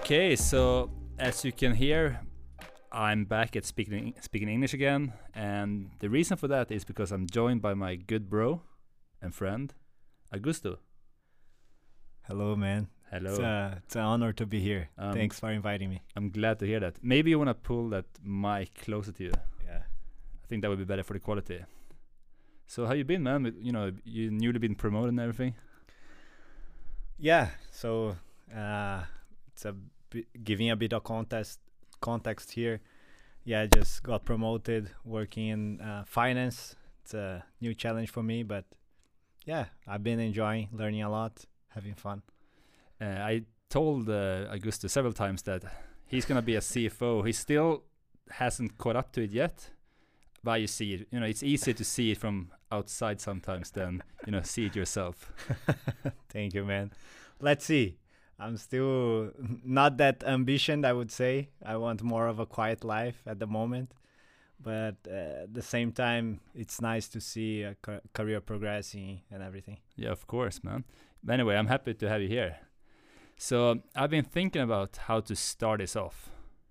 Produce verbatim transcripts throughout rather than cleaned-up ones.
Okay, so as you can hear, I'm back at speaking speaking English again, and the reason for that is because I'm joined by my good bro and friend, Augusto. Hello, man. Hello. It's, uh, it's an honor to be here. Um, Thanks for inviting me. I'm glad to hear that. Maybe you wanna pull that mic closer to you. Yeah. I think that would be better for the quality. So how you been, man? You know, you newly been promoted and everything. Yeah. So uh, it's a bi- giving a bit of context context here. Yeah, I just got promoted, working in uh, finance. It's a new challenge for me, but yeah, I've been enjoying, learning a lot, having fun. Uh, I told uh, Augusto several times that he's gonna be a C F O. He still hasn't caught up to it yet, but you see it. You know, it's easier to see it from outside sometimes than you know see it yourself. Thank you, man. Let's see. I'm still not that ambitioned, I would say. I want more of a quiet life at the moment. But uh, at the same time, it's nice to see a ca- career progressing and everything. Yeah, of course, man. But anyway, I'm happy to have you here. So I've been thinking about how to start this off,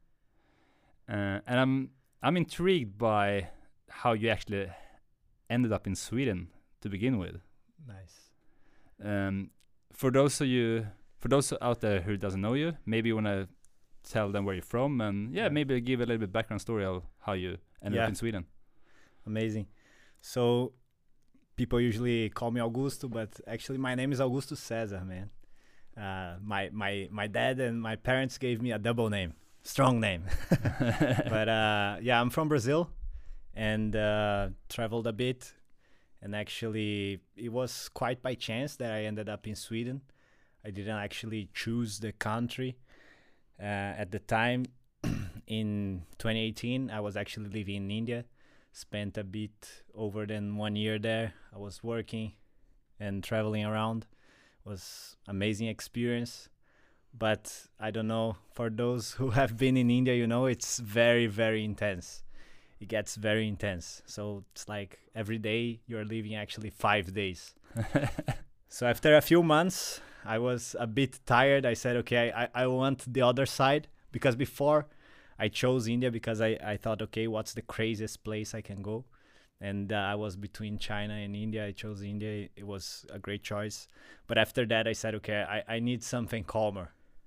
uh, and I'm I'm intrigued by how you actually ended up in Sweden to begin with. Nice. Um, for those of you, for those out there who doesn't know you, maybe you wanna tell them where you're from, and yeah, Yeah. maybe give a little bit background story of how you ended Yeah. up in Sweden. Amazing. So people usually call me Augusto, but actually my name is Augusto Cesar, man. Uh, my my my dad and my parents gave me a double name, strong name. But uh, yeah, I'm from Brazil, and uh, traveled a bit, and actually it was quite by chance that I ended up in Sweden. I didn't actually choose the country. Uh, at the time, in twenty eighteen, I was actually living in India. Spent a bit over than one year there. I was working and traveling around. Was amazing experience. But I don't know, for those who have been in India, you know, it's very, very intense. It gets very intense. So it's like every day you're living actually five days. So after a few months, I was a bit tired. I said, okay, I, I want the other side. Because before I chose India because I, I thought, okay, what's the craziest place I can go? And uh, I was between China and India. I chose India. It was a great choice. But after that, I said, okay, I, I need something calmer.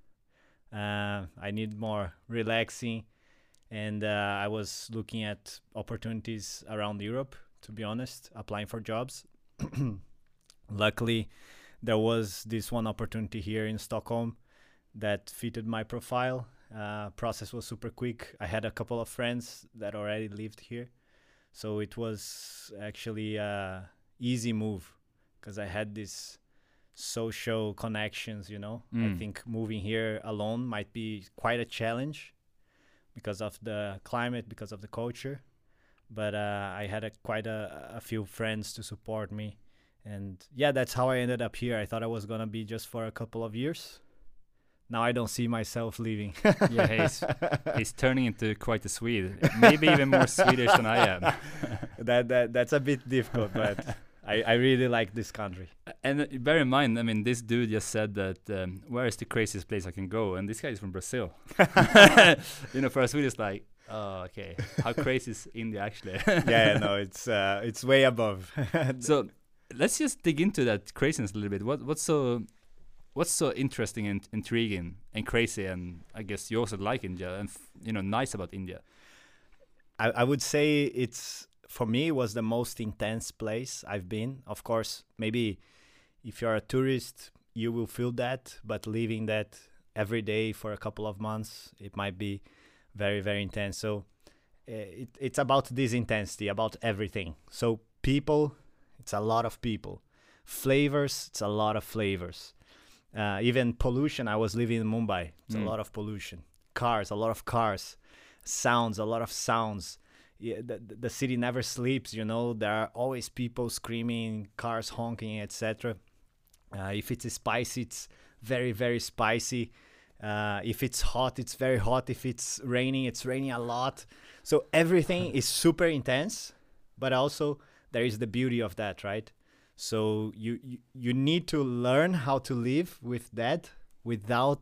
Uh, I need more relaxing. And uh, I was looking at opportunities around Europe, to be honest, applying for jobs. Luckily, there was this one opportunity here in Stockholm that fitted my profile. Uh, process was super quick. I had a couple of friends that already lived here. So it was actually a easy move because I had this social connections, you know. I Mm. think moving here alone might be quite a challenge because of the climate, because of the culture. But uh, I had a, quite a, a few friends to support me. And yeah, that's how I ended up here. I thought I was going to be just for a couple of years. Now I don't see myself leaving. Yeah, he's he's turning into quite a Swede, maybe even more Swedish than I am. that that that's a bit difficult, but I, I really like this country. And uh, bear in mind, I mean, this dude just said that um, where is the craziest place I can go, and this guy is from Brazil. You know, for a Swede, it's like, oh, okay, how crazy is India actually? Yeah, no, it's uh, it's way above. So let's just dig into that craziness a little bit. What what's so what's so interesting and intriguing and crazy, and I guess you also like India and f- you know nice about India. I, I would say it's, for me, it was the most intense place I've been. Of course, maybe if you're a tourist, you will feel that, but living that every day for a couple of months, it might be very, very intense. So uh, it, it's about this intensity, about everything. So people, it's a lot of people. Flavors, it's a lot of flavors. Uh, even pollution, I was living in Mumbai. It's Mm. a lot of pollution. Cars, a lot of cars. Sounds, a lot of sounds. Yeah, the, the the city never sleeps, you know. There are always people screaming, cars honking, et cetera. Uh, if it's spicy, it's very, very spicy. Uh, if it's hot, it's very hot. If it's raining, it's raining a lot. So everything is super intense, but also there is the beauty of that, right? So you, you you need to learn how to live with that without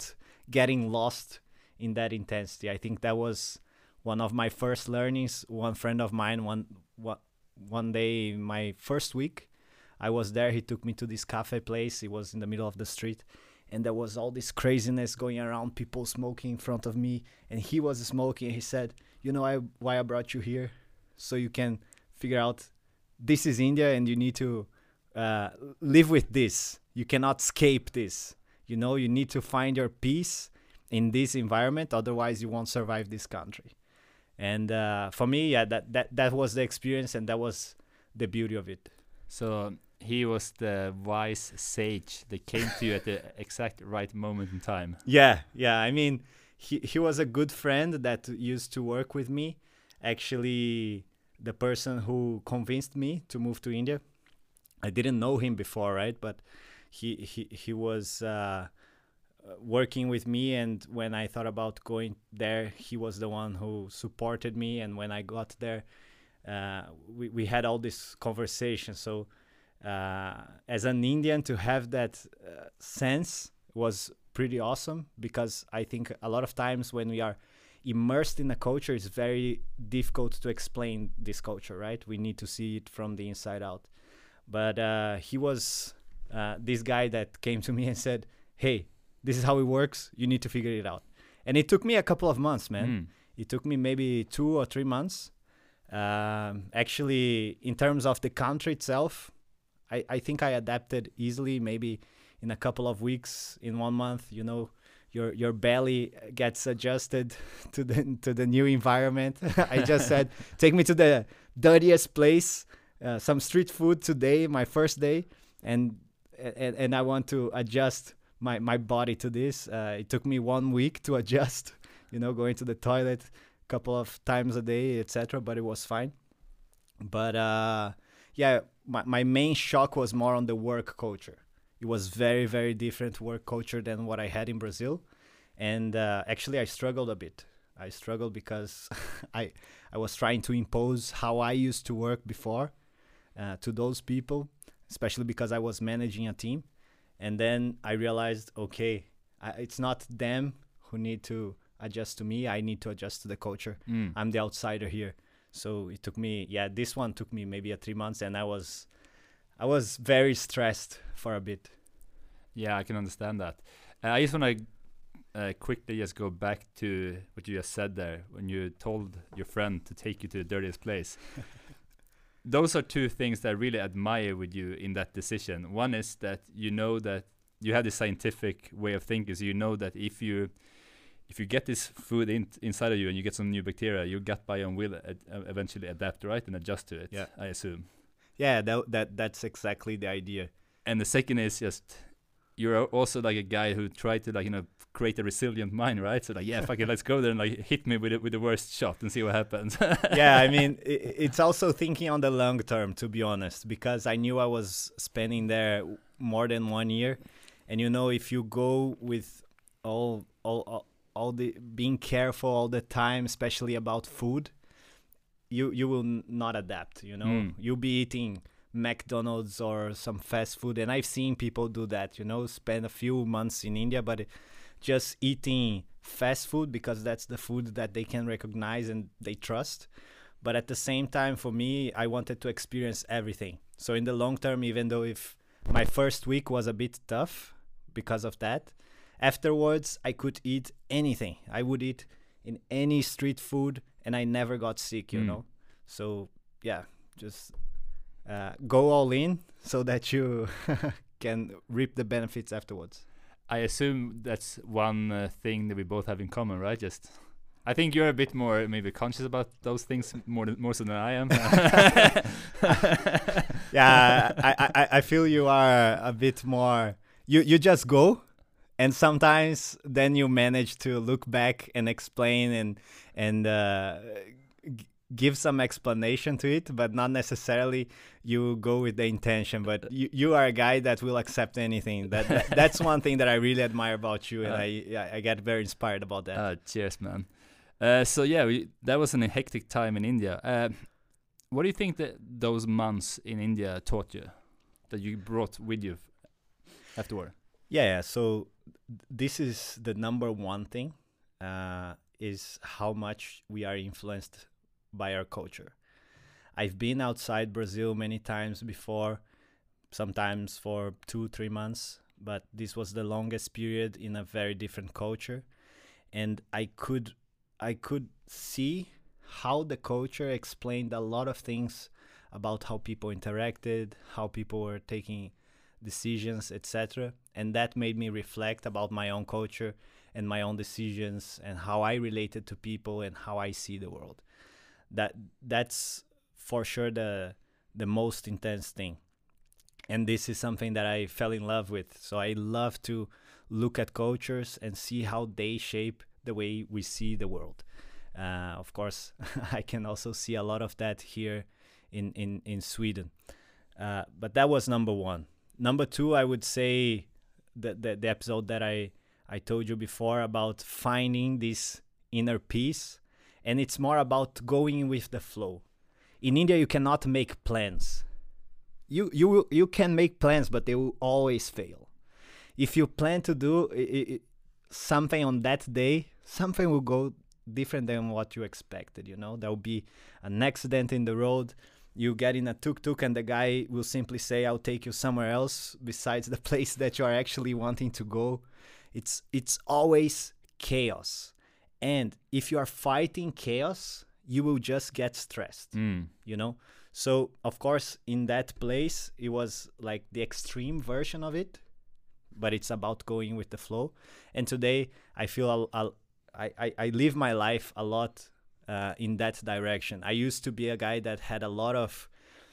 getting lost in that intensity. I think that was one of my first learnings. One friend of mine, one one, one day, my first week, I was there. He took me to this cafe place. It was in the middle of the street, and there was all this craziness going around, people smoking in front of me, and he was smoking. He said, you know I, why I brought you here? So you can figure out this is India, and you need to uh, live with this. You cannot escape this. You know, you need to find your peace in this environment, otherwise you won't survive this country. And uh, for me, yeah, that, that, that was the experience, and that was the beauty of it. So he was the wise sage that came to you at the exact right moment in time. Yeah, yeah. I mean, he, he was a good friend that used to work with me. Actually, the person who convinced me to move to India. I didn't know him before, right? But he he, he was uh, working with me, and when I thought about going there, he was the one who supported me. And when I got there, uh, we, we had all this conversation. So uh, as an Indian, to have that uh, sense was pretty awesome, because I think a lot of times when we are immersed in a culture, it's very difficult to explain this culture, right? We need to see it from the inside out. But uh, he was uh, this guy that came to me and said, hey, this is how it works. You need to figure it out. And it took me a couple of months, man. Mm. It took me maybe two or three months. Um, actually, in terms of the country itself, I, I think I adapted easily, maybe in a couple of weeks, in one month, you know, your your belly gets adjusted to the to the new environment. I just said, take me to the dirtiest place, uh, some street food today, my first day, and and, and I want to adjust my, my body to this. Uh, it took me one week to adjust, you know, going to the toilet a couple of times a day, et cetera. But it was fine. But uh, yeah, my, my main shock was more on the work culture. It was very, very different work culture than what I had in Brazil. And uh, actually, I struggled a bit. I struggled because I I was trying to impose how I used to work before uh, to those people, especially because I was managing a team. And then I realized, okay, I, it's not them who need to adjust to me. I need to adjust to the culture. Mm. I'm the outsider here. So it took me, yeah, this one took me maybe a three months, and I was... I was very stressed for a bit. Yeah, I can understand that. Uh, I just want to uh, quickly just go back to what you just said there when you told your friend to take you to the dirtiest place. Those are two things that I really admire with you in that decision. One is that you know that you have this scientific way of thinking, so you know that if you if you get this food in, inside of you and you get some new bacteria, your gut biome will ad eventually adapt, right, and adjust to it, yeah. I assume. Yeah, that, that that's exactly the idea. And the second is just you're also like a guy who tried to like you know create a resilient mind, right? So like yeah, fuck it, let's go there and like hit me with it with the worst shot and see what happens. Yeah, I mean it, it's also thinking on the long term, to be honest, because I knew I was spending there more than one year, and you know if you go with all all all, all the being careful all the time, especially about food. You you will n not adapt, you know. Mm. You'll be eating McDonald's or some fast food, and I've seen people do that, you know, spend a few months in India, but just eating fast food because that's the food that they can recognize and they trust. But at the same time, for me, I wanted to experience everything. So in the long term, even though if my first week was a bit tough because of that, afterwards I could eat anything. I would eat in any street food, and I never got sick, you mm. know. So yeah, just uh, go all in so that you can reap the benefits afterwards. I assume that's one uh, thing that we both have in common, right? Just, I think you're a bit more maybe conscious about those things more than, more so than I am. Yeah, I, I I feel you are a bit more. You you just go. And sometimes then you manage to look back and explain and and uh, g give some explanation to it, but not necessarily you go with the intention. But you, you are a guy that will accept anything. That, that That's one thing that I really admire about you, and uh, I yeah, I get very inspired about that. Uh, cheers, man. Uh, so yeah, we, that was an hectic time in India. Uh, what do you think that those months in India taught you, that you brought with you afterward? Yeah, so this is the number one thing, uh, is how much we are influenced by our culture. I've been outside Brazil many times before, sometimes for two, three months, but this was the longest period in a very different culture. And I could, I could see how the culture explained a lot of things about how people interacted, how people were taking decisions, et cetera. And that made me reflect about my own culture and my own decisions and how I related to people and how I see the world. That that's for sure the the most intense thing. And this is something that I fell in love with. So I love to look at cultures and see how they shape the way we see the world. Uh, of course, I can also see a lot of that here in, in, in Sweden. Uh, but that was number one. Number two, I would say the, the, the episode that I, I told you before about finding this inner peace. And it's more about going with the flow. In India, you cannot make plans. You you will, you can make plans, but they will always fail. If you plan to do I- I- something on that day, something will go different than what you expected. You know, there will be an accident in the road. You get in a tuk-tuk and the guy will simply say, "I'll take you somewhere else besides the place that you are actually wanting to go." It's it's always chaos, and if you are fighting chaos, you will just get stressed. Mm. You know. So, of course, in that place, it was like the extreme version of it, but it's about going with the flow. And today, I feel I'll, I'll, I, I, I live my life a lot uh, in that direction. I used to be a guy that had a lot of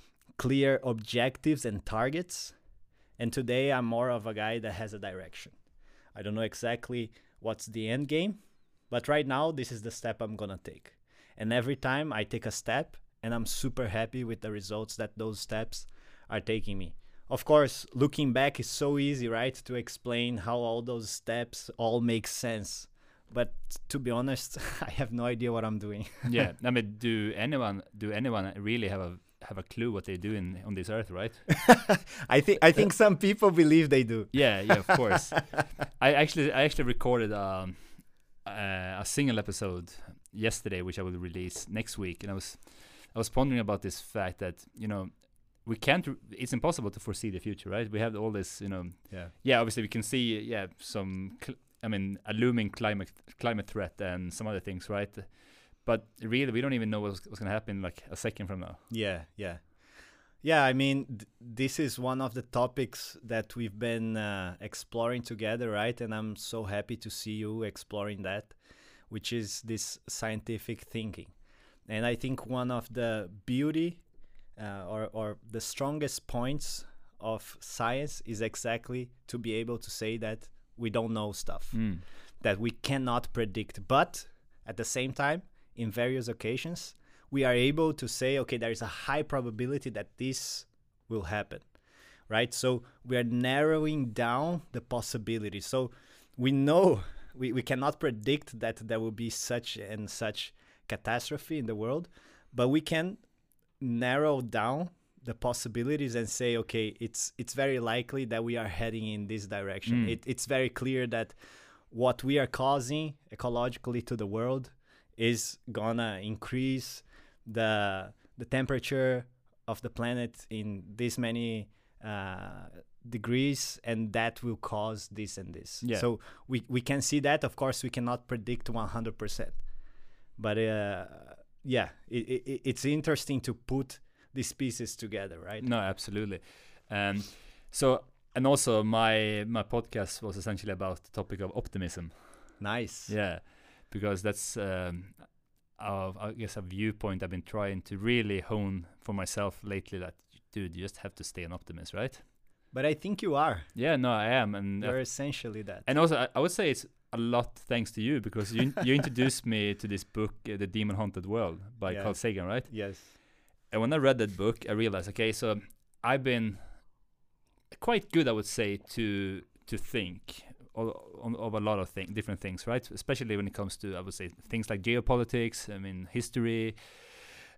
clear objectives and targets. And today, I'm more of a guy that has a direction. I don't know exactly what's the end game, but right now, this is the step I'm going to take. And every time I take a step, and I'm super happy with the results that those steps are taking me. Of course, looking back is so easy, right? To explain how all those steps all make sense. But to be honest, I have no idea what I'm doing. Yeah, I mean, do anyone do anyone really have a have a clue what they do in on this earth, right? I think I think some people believe they do. Yeah, yeah, of course. I actually I actually recorded um, uh, a single episode yesterday, which I will release next week, and I was. I was pondering about this fact that, you know, we can't, r- it's impossible to foresee the future, right? We have all this, you know, Yeah. yeah, obviously we can see, yeah, some, cl- I mean, a looming climate climate threat and some other things, right? But really, we don't even know what's, what's going to happen like a second from now. Yeah, yeah. Yeah, I mean, th- this is one of the topics that we've been uh, exploring together, right? And I'm so happy to see you exploring that, which is this scientific thinking. And I think one of the beauty uh, or, or the strongest points of science is exactly to be able to say that we don't know stuff, Mm. that we cannot predict. But at the same time, in various occasions, we are able to say, okay, there is a high probability that this will happen, right? So we are narrowing down the possibilities. So we know we, we cannot predict that there will be such and such catastrophe in the world, but we can narrow down the possibilities and say, okay, it's it's very likely that we are heading in this direction. Mm. It, it's very clear that what we are causing ecologically to the world is gonna increase the the temperature of the planet in this many uh, degrees, and that will cause this and this. Yeah. So we, we can see that. Of course, we cannot predict one hundred percent. But uh, yeah, it, it, it's interesting to put these pieces together, right? No, absolutely. Um, so, and also my my podcast was essentially about the topic of optimism. Nice. Yeah, because that's um, uh, I guess a viewpoint I've been trying to really hone for myself lately. That dude, you just have to stay an optimist, right? But I think you are. Yeah, no, I am, and You're uh, essentially that. and also I, I would say it's a lot thanks to you, because you you introduced me to this book, uh, The Demon Haunted World by Yeah. Carl Sagan, right? Yes. And when I read that book, I realized, okay, so I've been quite good, I would say, to to think of, of a lot of thing, different things, right? Especially when it comes to, I would say, things like geopolitics, I mean, history,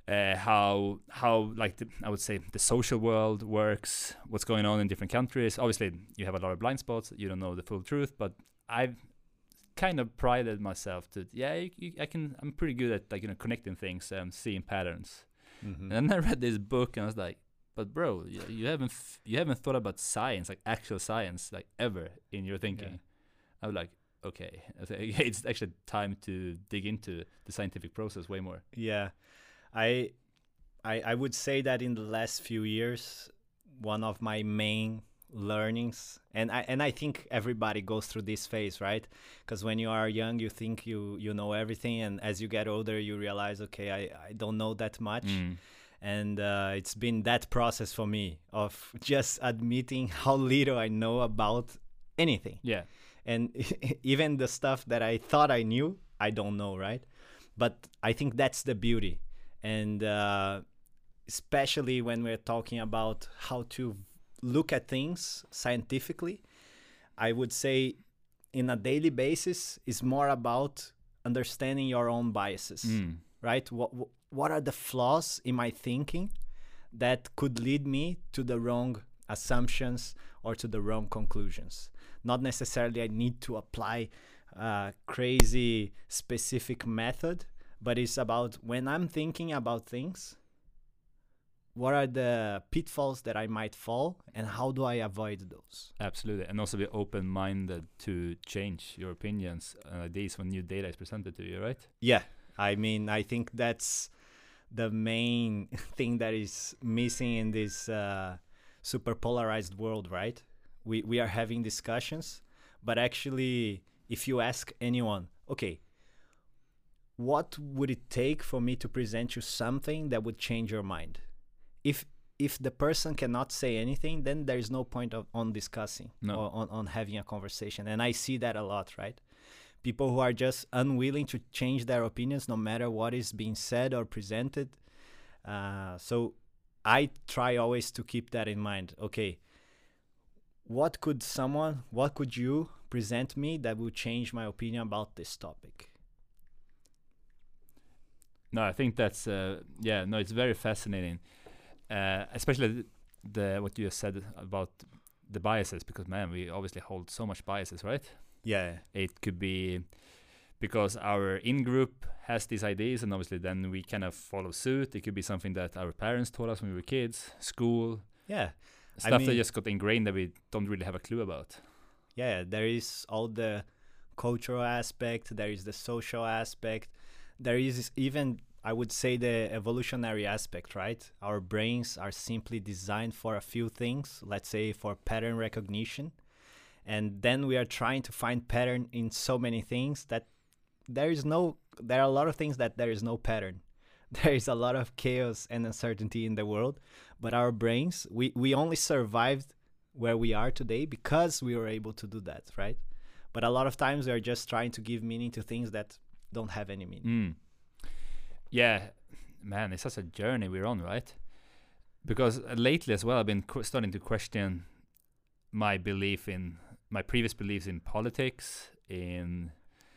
uh, how how like the, I would say the social world works, what's going on in different countries. Obviously, you have a lot of blind spots. You don't know the full truth, but I've kind of prided myself to yeah, you, you, I can. I'm pretty good at like you know connecting things and seeing patterns. Mm-hmm. And then I read this book and I was like, but bro, you, you haven't f- you haven't thought about science, like actual science, like ever in your thinking. Yeah. I was like, okay, I think it's actually time to dig into the scientific process way more. Yeah, I, I, I would say that in the last few years, one of my main learnings, and I and I think everybody goes through this phase, right? Because when you are young, you think you you know everything, and as you get older, you realize, okay, I, I don't know that much. Mm. And uh, it's been that process for me of just admitting how little I know about anything. Yeah. And even the stuff that I thought I knew, I don't know, right? But I think that's the beauty. And uh, especially when we're talking about how to look at things scientifically, I would say in a daily basis is more about understanding your own biases, Mm. right? What, what are the flaws in my thinking that could lead me to the wrong assumptions or to the wrong conclusions? Not necessarily I need to apply a crazy specific method, but it's about when I'm thinking about things, what are the pitfalls that I might fall and how do I avoid those? Absolutely. And also be open-minded to change your opinions and ideas when new data is presented to you, right? Yeah. I mean, I think that's the main thing that is missing in this uh, super polarized world, right? We we are having discussions, but actually, if you ask anyone, okay, what would it take for me to present you something that would change your mind? If if the person cannot say anything, then there is no point of on discussing No. or on, on having a conversation. And I see that a lot, right? People who are just unwilling to change their opinions no matter what is being said or presented. Uh, so I try always to keep that in mind. Okay, what could someone, what could you present me that will change my opinion about this topic? No, I think that's uh, yeah. No, it's very fascinating, uh, especially the, the what you just said about the biases. Because man, we obviously hold so much biases, right? Yeah, It could be because our in-group has these ideas, and obviously then we kind of follow suit. It could be something that our parents taught us when we were kids, school, yeah, stuff that mean- just got ingrained that we don't really have a clue about. yeah. There is all the cultural aspect, there is the social aspect, there is even, I would say, the evolutionary aspect, right? Our brains are simply designed for a few things, let's say for pattern recognition. And then we are trying to find pattern in so many things that there is no, there are a lot of things that there is no pattern. There is a lot of chaos and uncertainty in the world, but our brains, we, we only survived where we are today because we were able to do that, right? But a lot of times we are just trying to give meaning to things that don't have any meaning. Mm. Yeah, man, it's such a journey we're on, right? Because uh, lately as well, I've been qu- starting to question my belief in my previous beliefs in politics, in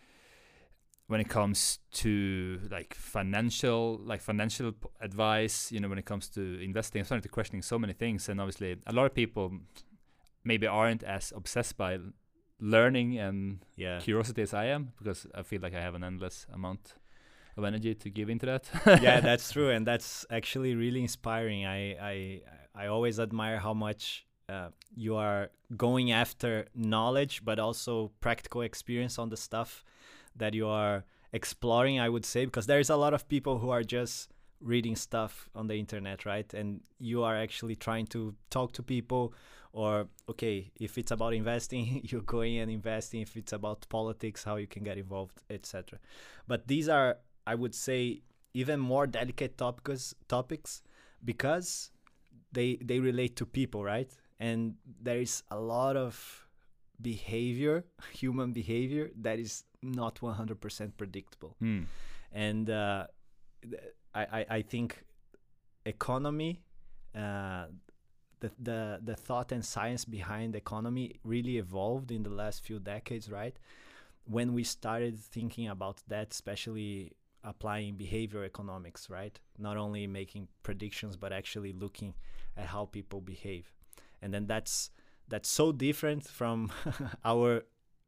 when it comes to like financial, like financial p- advice. You know, when it comes to investing, I'm starting to questioning so many things, and obviously, a lot of people maybe aren't as obsessed by l- learning and Yeah. curiosity as I am, because I feel like I have an endless amount of energy to give into that. Yeah, that's true, and that's actually really inspiring. I I I always admire how much uh, you are going after knowledge, but also practical experience on the stuff that you are exploring, I would say, because there's a lot of people who are just reading stuff on the internet, right? And you are actually trying to talk to people, or okay, if it's about investing, you're going and investing. If it's about politics, how you can get involved, et cetera. But these are, I would say, even more delicate topics topics because they they relate to people, right? And there is a lot of behavior, human behavior, that is not one hundred percent predictable. Mm. And uh, th- I, I I think economy, uh, the the the thought and science behind economy really evolved in the last few decades, right? When we started thinking about that, especially applying behavior economics, right? Not only making predictions, but actually looking at how people behave. And then that's that's so different from our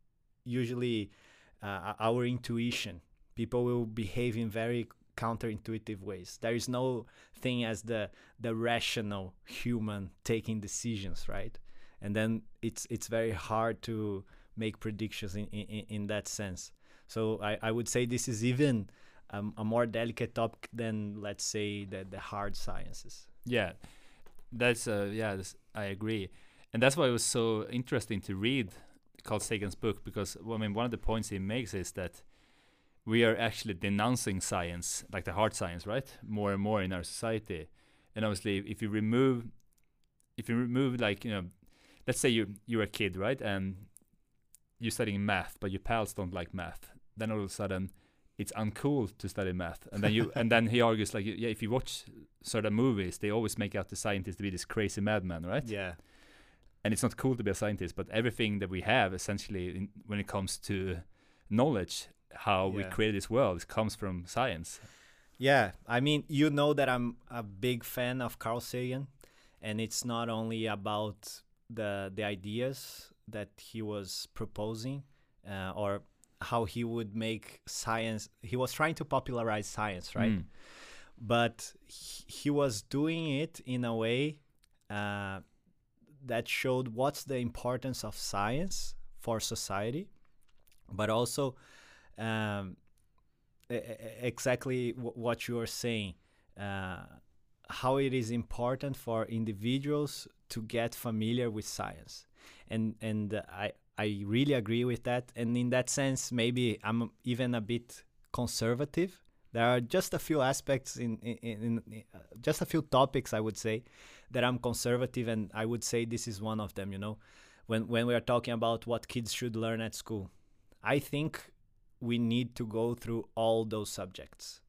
usually uh, our intuition. People will behave in very counterintuitive ways. There is no thing as the the rational human taking decisions, right? And then it's it's very hard to make predictions in in, in that sense. So I, I would say this is even um, a more delicate topic than, let's say, the the hard sciences. Yeah, that's uh, yeah, that's, I agree, and that's why it was so interesting to read Carl Sagan's book, because well, I mean, one of the points he makes is that we are actually denouncing science, like the hard science, right, more and more in our society. And obviously, if you remove, if you remove, like, you know, let's say you you're a kid, right, and you're studying math, but your pals don't like math, then all of a sudden it's uncool to study math, and then you and then he argues like, yeah, if you watch certain movies, they always make out the scientist to be this crazy madman, right? Yeah. And it's not cool to be a scientist, but everything that we have essentially in, when it comes to knowledge, how we Yeah. create this world, comes from science. Yeah, I mean, you know that I'm a big fan of Carl Sagan, and it's not only about the the ideas that he was proposing uh, or how he would make science. He was trying to popularize science, right? Mm. But he, he was doing it in a way uh, that showed what's the importance of science for society, but also um, e- e- exactly w- what you are saying, uh, how it is important for individuals to get familiar with science. And and uh, I, I really agree with that. And in that sense, maybe I'm even a bit conservative. There are just a few aspects in, in, in, in uh, just a few topics, I would say, that I'm conservative, and I would say this is one of them, you know. When when we are talking about what kids should learn at school, I think we need to go through all those subjects.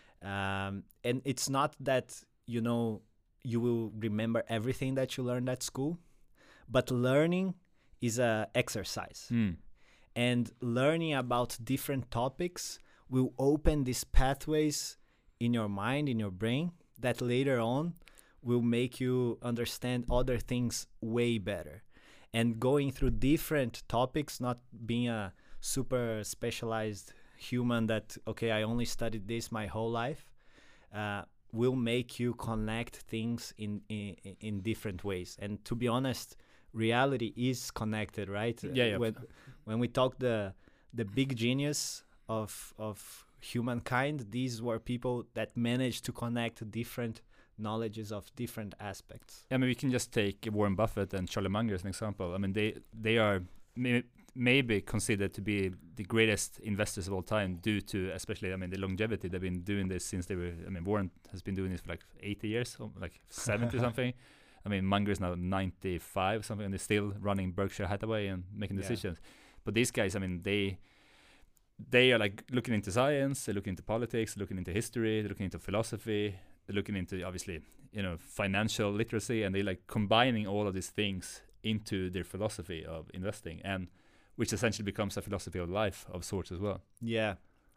Um, and it's not that, you know, you will remember everything that you learned at school, but learning is a exercise. Mm. And learning about different topics will open these pathways in your mind, in your brain, that later on will make you understand other things way better. And going through different topics, not being a super specialized human that, okay, I only studied this my whole life, uh, will make you connect things in, in in different ways. And to be honest, reality is connected, right? Yeah, yeah. When when we talk the the big genius of of humankind, these were people that managed to connect different knowledges of different aspects. I mean, we can just take Warren Buffett and Charlie Munger as an example. I mean, they they are may, maybe considered to be the greatest investors of all time due to, especially, I mean, the longevity. They've been doing this since they were, I mean, Warren has been doing this for like eighty years, or like seventy something. I mean, Munger is now ninety-five something, and they're still running Berkshire Hathaway and making Yeah. decisions. But these guys, I mean, they they are like looking into science, they're looking into politics, they're looking into history, they're looking into philosophy, they're looking into, obviously, you know, financial literacy, and they like combining all of these things into their philosophy of investing, and which essentially becomes a philosophy of life of sorts as well. Yeah,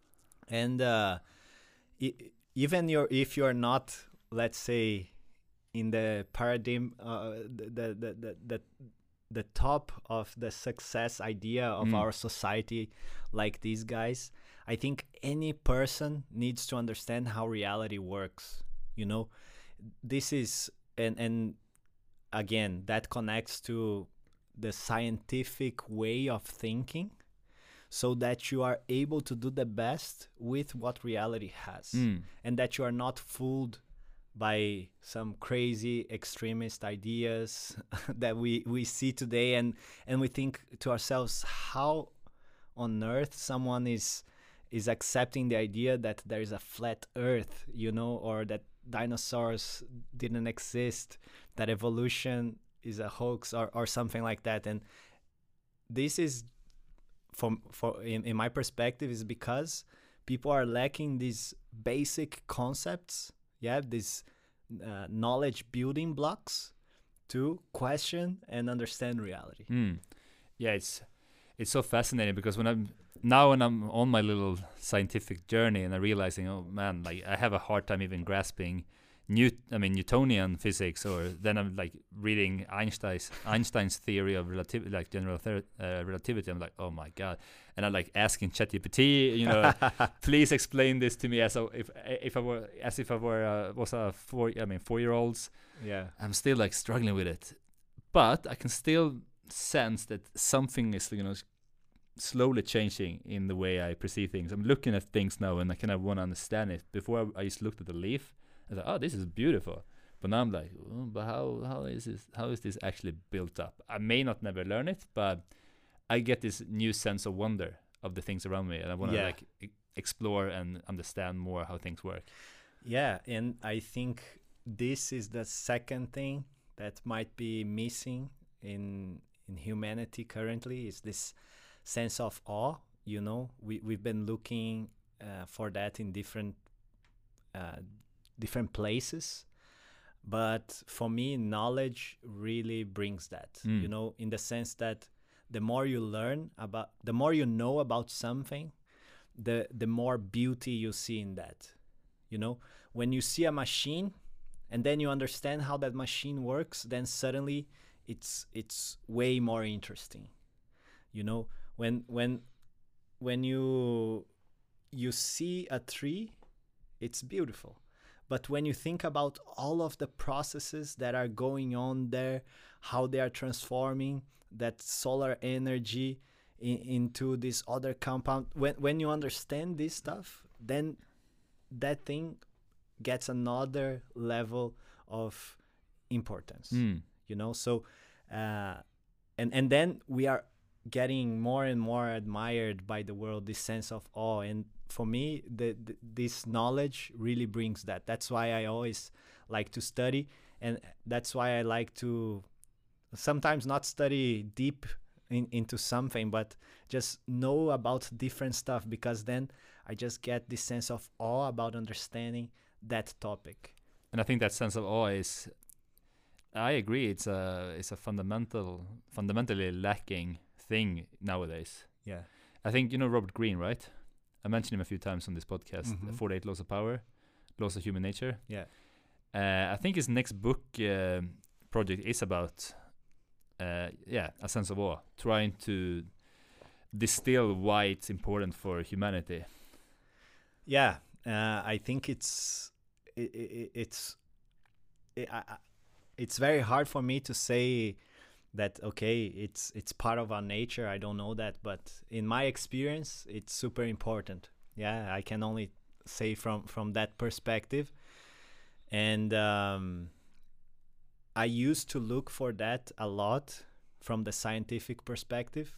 and uh, I- even your if you're not, let's say, in the paradigm, uh, the, the the the the the top of the success idea of Mm. our society, like these guys, I think any person needs to understand how reality works. You know, this is and and again that connects to the scientific way of thinking, so that you are able to do the best with what reality has, Mm. and that you are not fooled by some crazy extremist ideas that we, we see today, and, and we think to ourselves, how on earth someone is is accepting the idea that there is a flat earth, you know, or that dinosaurs didn't exist, that evolution is a hoax, or, or something like that. And this is, from for in, in my perspective, is because people are lacking these basic concepts, yeah, these uh, knowledge building blocks to question and understand reality. Mm. Yeah, it's it's so fascinating because when I'm now when I'm on my little scientific journey and I'm realizing, oh man, like I have a hard time even grasping Newt I mean Newtonian physics, or then I'm like reading Einstein's Einstein's theory of relativity, like general ther- uh, relativity. I'm like, oh my god, and I'm like asking ChatGPT, you know, please explain this to me as a, if if I were as if I were uh, was a four I mean four year olds. Yeah. I'm still like struggling with it, but I can still sense that something is, you know, s- slowly changing in the way I perceive things. I'm looking at things now and I kind of want to understand it. Before I, I just looked at the leaf. I thought, oh, this is beautiful. But now I'm like, oh, but how how is this how is this actually built up? I may not never learn it, but I get this new sense of wonder of the things around me, and I want to Yeah. like e- explore and understand more how things work. Yeah, and I think this is the second thing that might be missing in in humanity currently, is this sense of awe. You know, we we've been looking uh, for that in different uh, different places, but for me, knowledge really brings that. Mm. You know, in the sense that the more you learn about, the more you know about something, the the more beauty you see in that. You know, when you see a machine and then you understand how that machine works, then suddenly it's it's way more interesting. You know, when when when you you see a tree, it's beautiful. But when you think about all of the processes that are going on there, how they are transforming that solar energy in, into this other compound, when when you understand this stuff, then that thing gets another level of importance. Mm. You know, so uh, and and then we are getting more and more admired by the world, this sense of awe. And for me, the, the this knowledge really brings that. That's why I always like to study, and that's why I like to sometimes not study deep in, into something, but just know about different stuff, because then I just get this sense of awe about understanding that topic. And I think that sense of awe is, I agree, it's a it's a fundamental fundamentally lacking thing nowadays. Yeah. I think you know Robert Greene, right? I mentioned him a few times on this podcast. Mhm. forty-eight Laws of Power, Laws of Human Nature. Yeah. Uh, I think his next book uh, project is about, uh, yeah, a sense of awe, trying to distill why it's important for humanity. Yeah, uh, I think it's it, it, it's it, I, I- it's very hard for me to say that okay, it's it's part of our nature. I don't know that, but in my experience, it's super important. Yeah, I can only say from from that perspective. And um, I used to look for that a lot from the scientific perspective,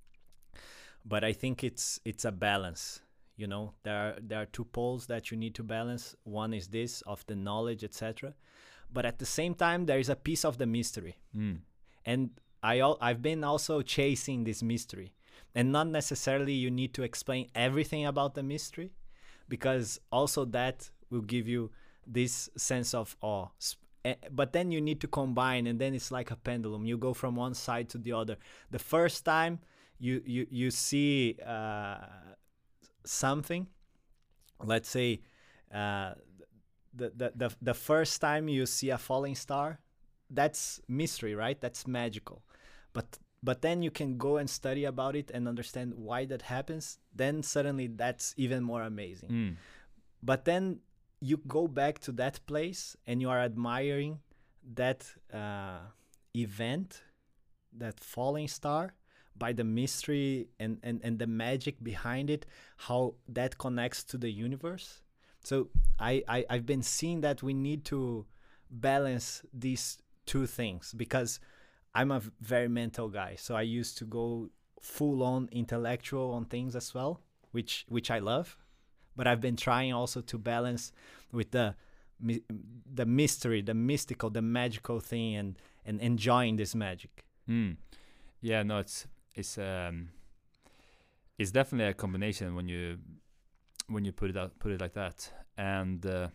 but I think it's it's a balance. You know, there are there are two poles that you need to balance. One is this of the knowledge, et cetera. But at the same time, there is a piece of the mystery, Mm. and I al- I've been also chasing this mystery, and not necessarily you need to explain everything about the mystery, because also that will give you this sense of awe. S- eh, But then you need to combine, and then it's like a pendulum. You go from one side to the other. The first time you you you see uh, something, let's say uh, the, the the the first time you see a falling star, that's mystery, right? That's magical. But but then you can go and study about it and understand why that happens. Then suddenly that's even more amazing. Mm. But then you go back to that place and you are admiring that uh, event, that falling star, by the mystery and, and, and the magic behind it, how that connects to the universe. So I, I, I've been seeing that we need to balance these two things, because I'm a v- very mental guy. So I used to go full on intellectual on things as well, which which I love. But I've been trying also to balance with the my- the mystery, the mystical, the magical thing, and and enjoying this magic. Mm. Yeah, no, it's it's um it's definitely a combination when you when you put it out put it like that. And uh,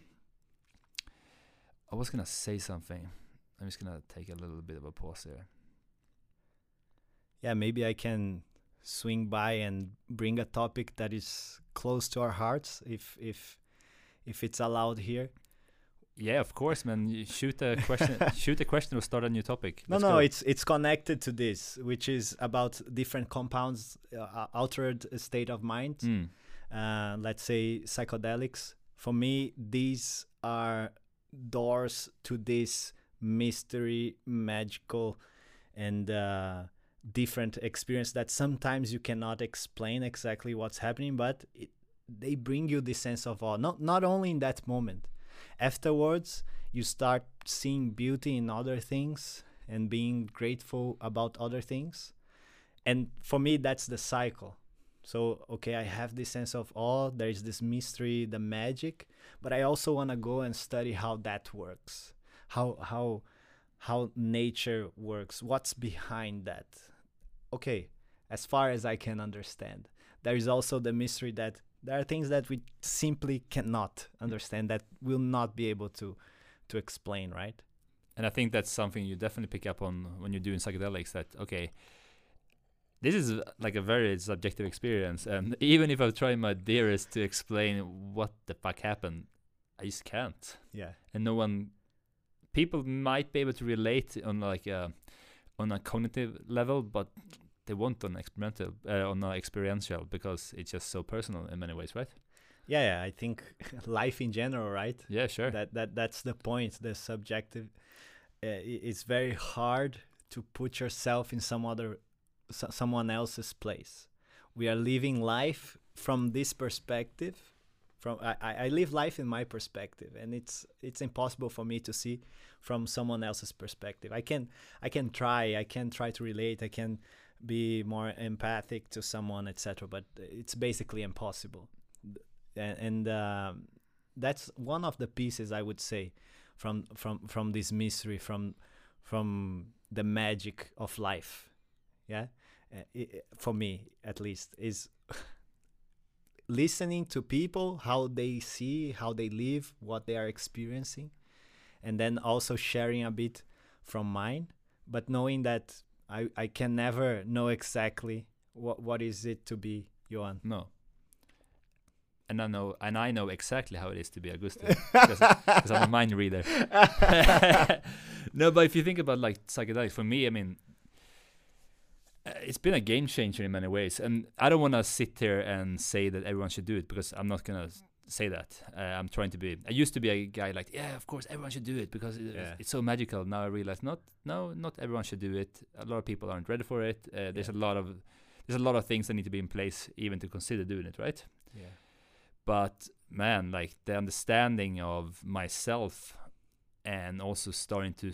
I was gonna say something. I'm just gonna take a little bit of a pause here. Yeah, maybe I can swing by and bring a topic that is close to our hearts, if if if it's allowed here. Yeah, of course, man. You shoot a question. shoot a question or start a new topic. No, Let's no, go. it's it's connected to this, which is about different compounds, uh, altered state of mind. Mm. Uh, let's say psychedelics. For me, these are doors to this mystery, magical, and uh, different experience that sometimes you cannot explain exactly what's happening, but it, they bring you this sense of awe. Not not only in that moment. Afterwards, you start seeing beauty in other things and being grateful about other things. And for me, that's the cycle. So, okay, I have this sense of awe, there's this mystery, the magic, but I also want to go and study how that works, how how how nature works, what's behind that. Okay, as far as I can understand. There is also the mystery that there are things that we simply cannot understand, that we'll not be able to to explain, right? And I think that's something you definitely pick up on when you're doing psychedelics, that, okay, this is uh, like a very subjective experience. And even if I try my dearest to explain what the fuck happened, I just can't. Yeah. And no one, people might be able to relate on like a, on a cognitive level, but they won't on experimental, uh, on a experiential, because it's just so personal in many ways, right? Yeah, yeah, I think life in general, right? Yeah, sure. That that that's the point. The subjective. Uh, i- it's very hard to put yourself in some other, so, someone else's place. We are living life from this perspective. From I, I I live life in my perspective, and it's it's impossible for me to see from someone else's perspective. I can I can try. I can try to relate. I can be more empathic to someone, et cetera. But it's basically impossible. And, and um, that's one of the pieces, I would say, from from from this mystery, from from the magic of life. Yeah, uh, I for me at least, is listening to people, how they see, how they live, what they are experiencing, and then also sharing a bit from mine, but knowing that I, I can never know exactly what what is it to be Johan. No. And I know, and I know exactly how it is to be Augusto, because I'm a mind reader. No, but if you think about like psychedelics, for me, I mean, uh, it's been a game changer in many ways. And I don't want to sit here and say that everyone should do it, because I'm not gonna s- say that. Uh, I'm trying to be. I used to be a guy like, yeah, of course, everyone should do it because it, Yeah. it's so magical. Now I realize, not, no, not everyone should do it. A lot of people aren't ready for it. Uh, there's Yeah. a lot of, there's a lot of things that need to be in place even to consider doing it, right? Yeah. But man, like the understanding of myself, and also starting to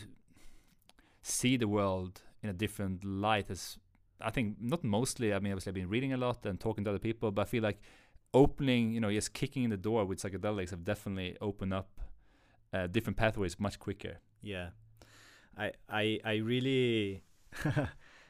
see the world in a different light, is, I think, not mostly, I mean, obviously I've been reading a lot and talking to other people, but I feel like opening, you know, just kicking in the door with psychedelics have definitely opened up uh, different pathways much quicker. Yeah, I I I really uh,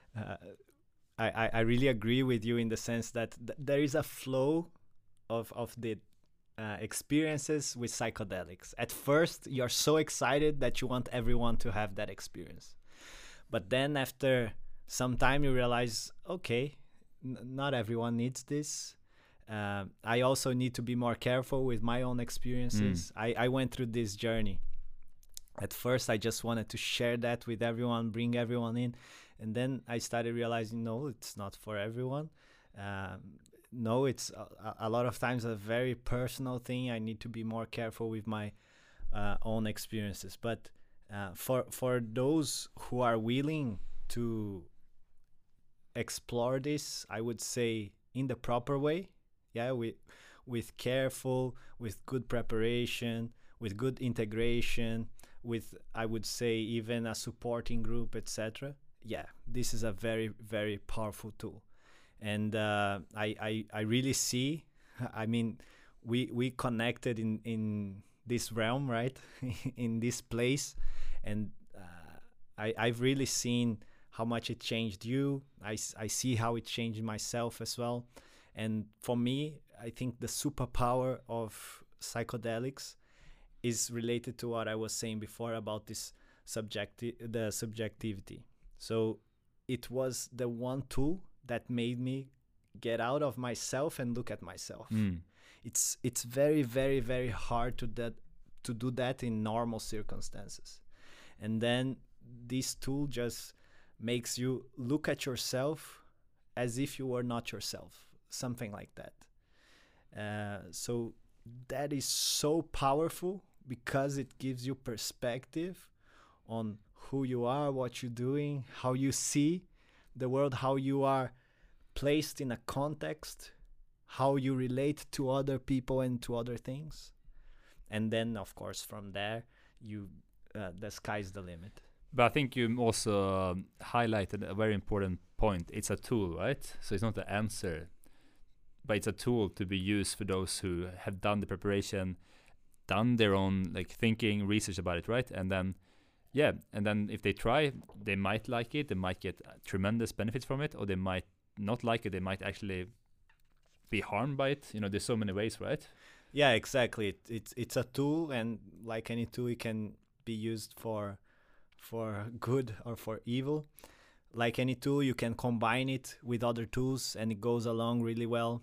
I, I I really agree with you in the sense that th- there is a flow of of the uh, experiences with psychedelics. At first, you're so excited that you want everyone to have that experience, but then after some time, you realize, okay, n- not everyone needs this. Um, I also need to be more careful with my own experiences. I, I went through this journey. At first, I just wanted to share that with everyone, bring everyone in. And then I started realizing, no, it's not for everyone. Um, no, it's a, a lot of times a very personal thing. I need to be more careful with my uh, own experiences. But uh, for for those who are willing to explore this, I would say in the proper way, yeah, with with careful, with good preparation, with good integration, with, I would say, even a supporting group, et cetera. Yeah, this is a very very powerful tool, and uh, I, I I really see. I mean, we we connected in in this realm, right? In this place, and uh, I I've really seen how much it changed you. I, s- I see how it changed myself as well. And for me, I think the superpower of psychedelics is related to what I was saying before about this subjecti- the subjectivity. So it was the one tool that made me get out of myself and look at myself. Mm. It's it's very very very hard to that to do that in normal circumstances, and then this tool just makes you look at yourself as if you were not yourself, something like that. Uh, so that is so powerful because it gives you perspective on who you are, what you're doing, how you see the world, how you are placed in a context, how you relate to other people and to other things. And then, of course, from there, you uh, the sky's the limit. But I think you also um, highlighted a very important point. It's a tool, right? So it's not the answer, but it's a tool to be used for those who have done the preparation, done their own like thinking, research about it, right? And then, yeah, and then if they try, they might like it, they might get uh, tremendous benefits from it, or they might not like it, they might actually be harmed by it. You know, there's so many ways, right? Yeah, exactly. It, it's it's a tool, and like any tool, it can be used for for good or for evil. Like any tool, you can combine it with other tools, and it goes along really well.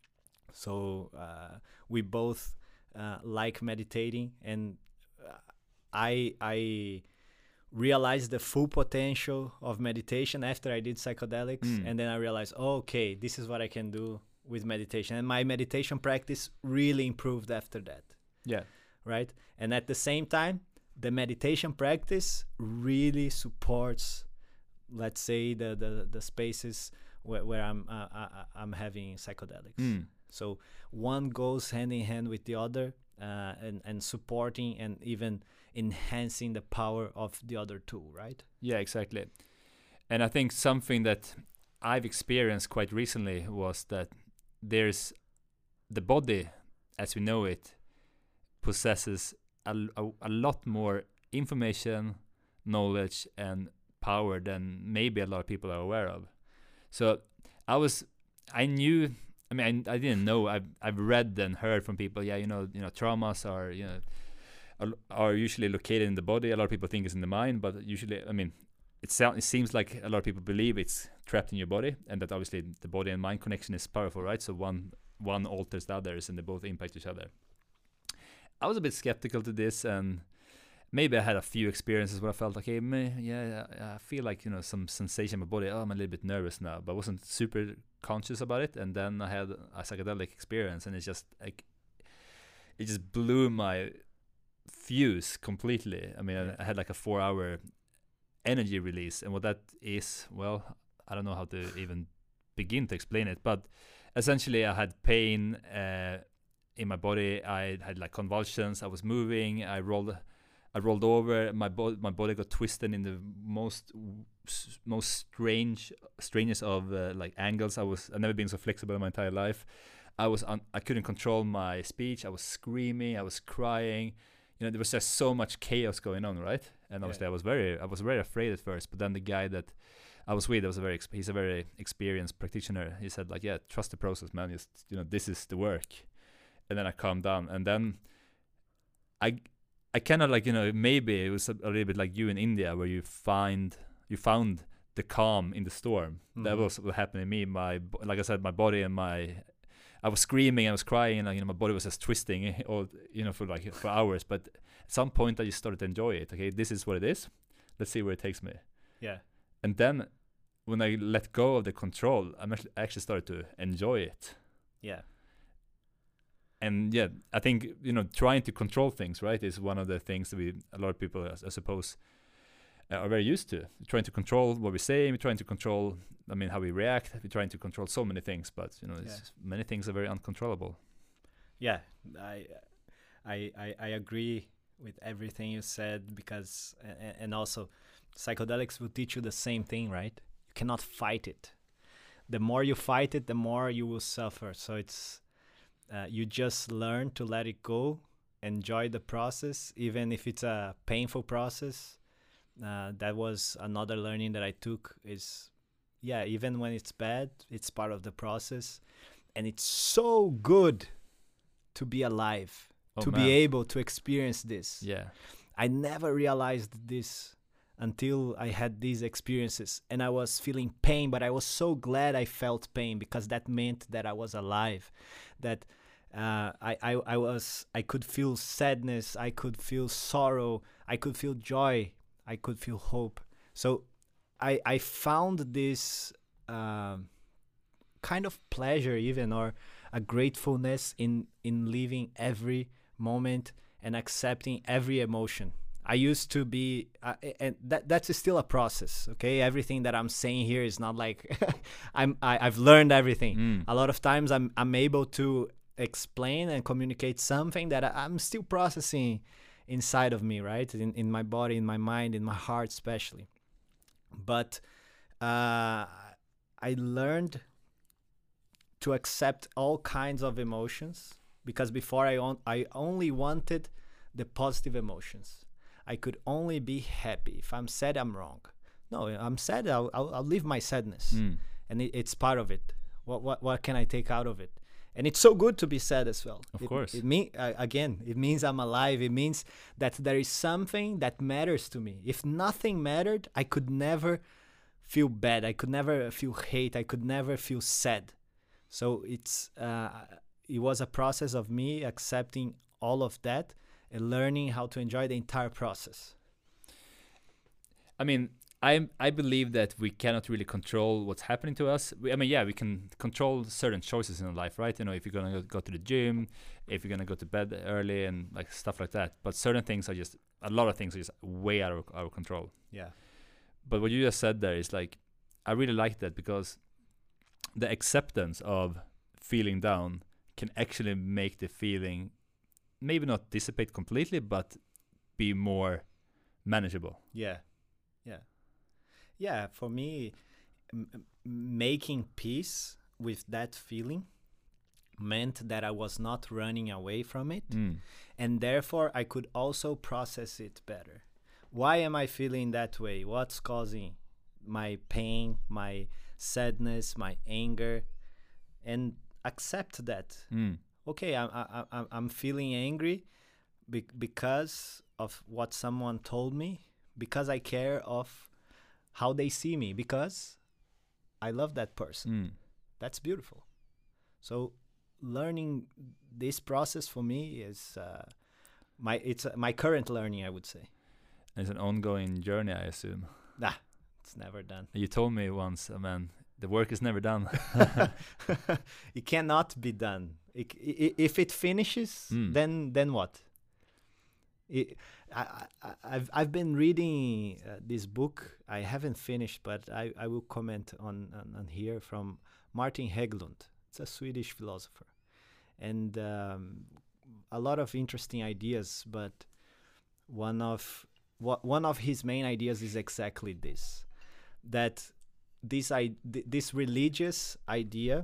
So uh, we both uh, like meditating, and uh, I I realized the full potential of meditation after I did psychedelics, Mm. and then I realized, oh, okay, this is what I can do with meditation, and my meditation practice really improved after that. Yeah. Right? And at the same time, the meditation practice really supports, let's say, the the, the spaces where, where I'm uh, I, I'm having psychedelics. Mm. So one goes hand in hand with the other, uh, and and supporting and even enhancing the power of the other tool, right? Yeah, exactly. And I think something that I've experienced quite recently was that there's the body, as we know it, possesses a, a, a lot more information, knowledge, and power than maybe a lot of people are aware of. So I was, I knew, I mean, I, I didn't know. I've I've read and heard from people. Yeah, you know, you know, traumas are you know are, are usually located in the body. A lot of people think it's in the mind, but usually, I mean, it sounds it seems like a lot of people believe it's trapped in your body, and that obviously the body and mind connection is powerful, right? So one one alters the others, and they both impact each other. I was a bit skeptical to this, and maybe I had a few experiences where I felt, okay, meh, yeah, I feel like, you know, some sensation in my body. Oh, I'm a little bit nervous now, but I wasn't super conscious about it. And then I had a psychedelic experience, and it's just like, it just blew my fuse completely. I mean, I, I had like a four hour energy release, and what that is, well, I don't know how to even begin to explain it, but essentially I had pain uh, in my body. I had like convulsions. I was moving. I rolled I rolled over. My body, my body got twisted in the most, most strange, strangest of uh, like angles. I was, I've never been so flexible in my entire life. I was, un- I couldn't control my speech. I was screaming. I was crying. You know, there was just so much chaos going on, right? And obviously, yeah. I was very, I was very afraid at first. But then the guy that I was with, was a very, exp- he's a very experienced practitioner. He said, like, yeah, trust the process, man. Just, you know, this is the work. And then I calmed down, and then I. I kind of like, you know, maybe it was a, a little bit like you in India, where you find you found the calm in the storm. Mm-hmm. That was what happened to me. My, like I said, my body and my, I was screaming, I was crying, and like, you know, my body was just twisting, all, you know, for like for hours. But at some point, I just started to enjoy it. Okay, this is what it is. Let's see where it takes me. Yeah. And then when I let go of the control, I actually started to enjoy it. Yeah. And yeah, I think, you know, trying to control things, right, is one of the things that we, a lot of people, I suppose, uh, are very used to. We're trying to control what we say. We're trying to control, I mean, how we react. We're trying to control so many things, but, you know, it's yeah. many things are very uncontrollable. Yeah, I, I, I, I agree with everything you said, because, and, and also, psychedelics will teach you the same thing, right? You cannot fight it. The more you fight it, the more you will suffer. So it's, Uh, you just learn to let it go, enjoy the process, even if it's a painful process. Uh, that was another learning that I took is, yeah, even when it's bad, it's part of the process. And it's so good to be alive, oh, to man. be able to experience this. Yeah. I never realized this until I had these experiences, and I was feeling pain, but I was so glad I felt pain, because that meant that I was alive, that uh, I, I, I was I could feel sadness, I could feel sorrow, I could feel joy, I could feel hope. So I I found this um, kind of pleasure even, or a gratefulness in in living every moment and accepting every emotion. I used to be, uh, and that that's still a process. Okay, everything that I'm saying here is not like I'm I, I've learned everything. Mm. A lot of times I'm I'm able to explain and communicate something that I, I'm still processing inside of me, right? In in my body, in my mind, in my heart, especially. But uh, I learned to accept all kinds of emotions, because before I on, I only wanted the positive emotions. I could only be happy. If I'm sad, I'm wrong. No, I'm sad. I'll I'll, I'll live my sadness, Mm. and it, it's part of it. What what what can I take out of it? And it's so good to be sad as well. Of it, course. It mean uh, again. It means I'm alive. It means that there is something that matters to me. If nothing mattered, I could never feel bad. I could never feel hate. I could never feel sad. So it's uh, it was a process of me accepting all of that and learning how to enjoy the entire process. I mean, I I believe that we cannot really control what's happening to us. We, I mean, yeah, we can control certain choices in our life, right? You know, if you're gonna go, go to the gym, if you're gonna go to bed early, and like stuff like that. But certain things are just a lot of things are just way out of our control. Yeah. But what you just said there is like, I really like that, because the acceptance of feeling down can actually make the feeling maybe not dissipate completely, but be more manageable. Yeah. Yeah. Yeah. For me, m- m- making peace with that feeling meant that I was not running away from it, Mm. and therefore I could also process it better. Why am I feeling that way? What's causing my pain, my sadness, my anger? And accept that. Mm. Okay, I'm I, I, I'm feeling angry be- because of what someone told me, because I care of how they see me, because I love that person. Mm. That's beautiful. So learning this process for me is uh, my it's uh, my current learning, I would say. It's an ongoing journey, I assume. Nah, it's never done. You told me once, uh, man, the work is never done. It cannot be done. It, I if it finishes, Mm. then then what? It, I, I, I've I've been reading uh, this book. I haven't finished, but I, I will comment on, on, on here, from Martin Hägglund. It's a Swedish philosopher, and um, a lot of interesting ideas. But one of what one of his main ideas is exactly this: that this I th- this religious idea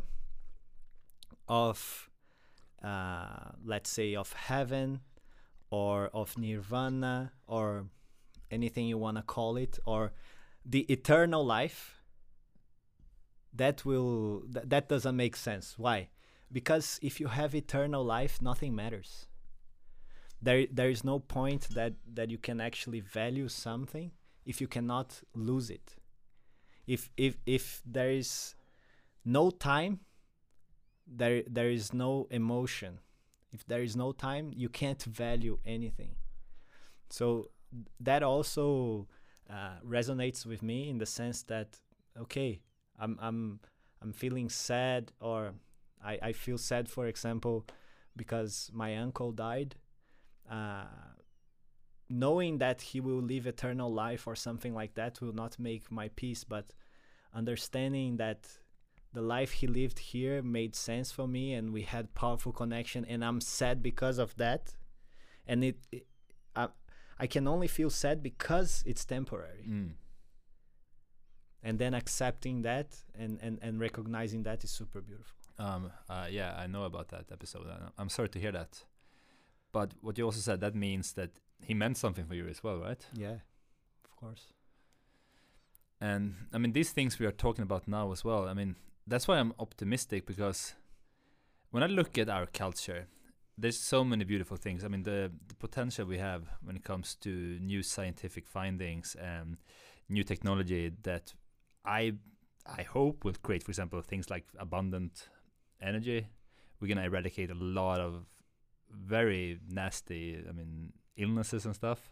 of uh, let's say of heaven, or of nirvana, or anything you want to call it, or the eternal life, that will th- that doesn't make sense. Why? Because if you have eternal life, nothing matters. There there is no point that that you can actually value something if you cannot lose it. If if if there is no time, there there is no emotion. If there is no time, you can't value anything. So that also uh, resonates with me, in the sense that, okay, I'm I'm I'm feeling sad, or I, I feel sad, for example, because my uncle died. Uh, knowing that he will live eternal life or something like that will not make my peace, but understanding that the life he lived here made sense for me, and we had powerful connection, and I'm sad because of that, and it, it I, I can only feel sad because it's temporary. Mm. And then accepting that, and, and, and recognizing that is super beautiful. Um, uh, yeah, I know about that episode. I- I'm sorry to hear that. But what you also said, that means that he meant something for you as well, right? Yeah, of course. And I mean, these things we are talking about now as well, I mean, that's why I'm optimistic, because when I look at our culture, there's so many beautiful things. I mean, the the potential we have when it comes to new scientific findings and new technology that I I hope will create, for example, things like abundant energy. We're gonna eradicate a lot of very nasty, I mean, illnesses and stuff.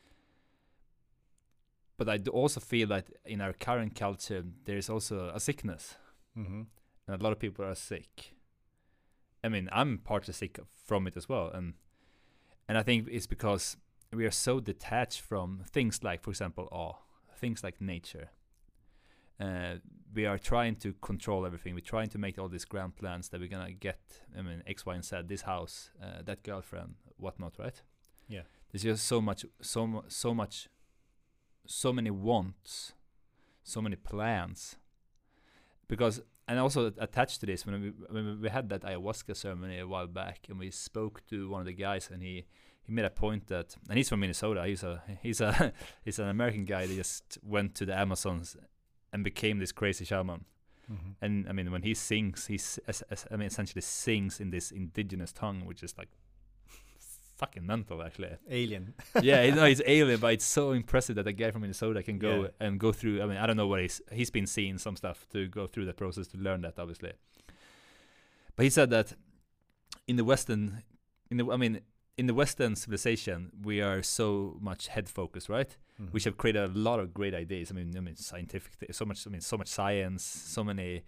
But I do also feel that in our current culture, there is also a sickness, Mm-hmm. and a lot of people are sick. I mean, I'm partly sick from it as well, and and I think it's because we are so detached from things like, for example, awe, things like nature. Uh, we are trying to control everything. We're trying to make all these grand plans that we're gonna get. I mean, X, Y, and Z. This house, uh, that girlfriend, whatnot, right? Yeah. There's just so much, so mu- so much, so many wants, so many plans. Because, and also attached to this, when we when we had that ayahuasca ceremony a while back, and we spoke to one of the guys, and he he made a point that, and he's from Minnesota. He's a he's a he's an American guy that just went to the Amazons and became this crazy shaman. Mm-hmm. And I mean, when he sings, he's as, as, I mean, essentially sings in this indigenous tongue, which is like fucking mental, actually. Alien. Yeah, you know, it's alien, but it's so impressive that a guy from Minnesota can go Yeah. and go through. I mean, I don't know what he's he's been seeing some stuff to go through the process to learn that, obviously. But he said that in the Western, in the I mean, in the Western civilization, we are so much head focused, right? Mm-hmm. Which have created a lot of great ideas. I mean, I mean, scientific, th- so much. I mean, so much science, so many.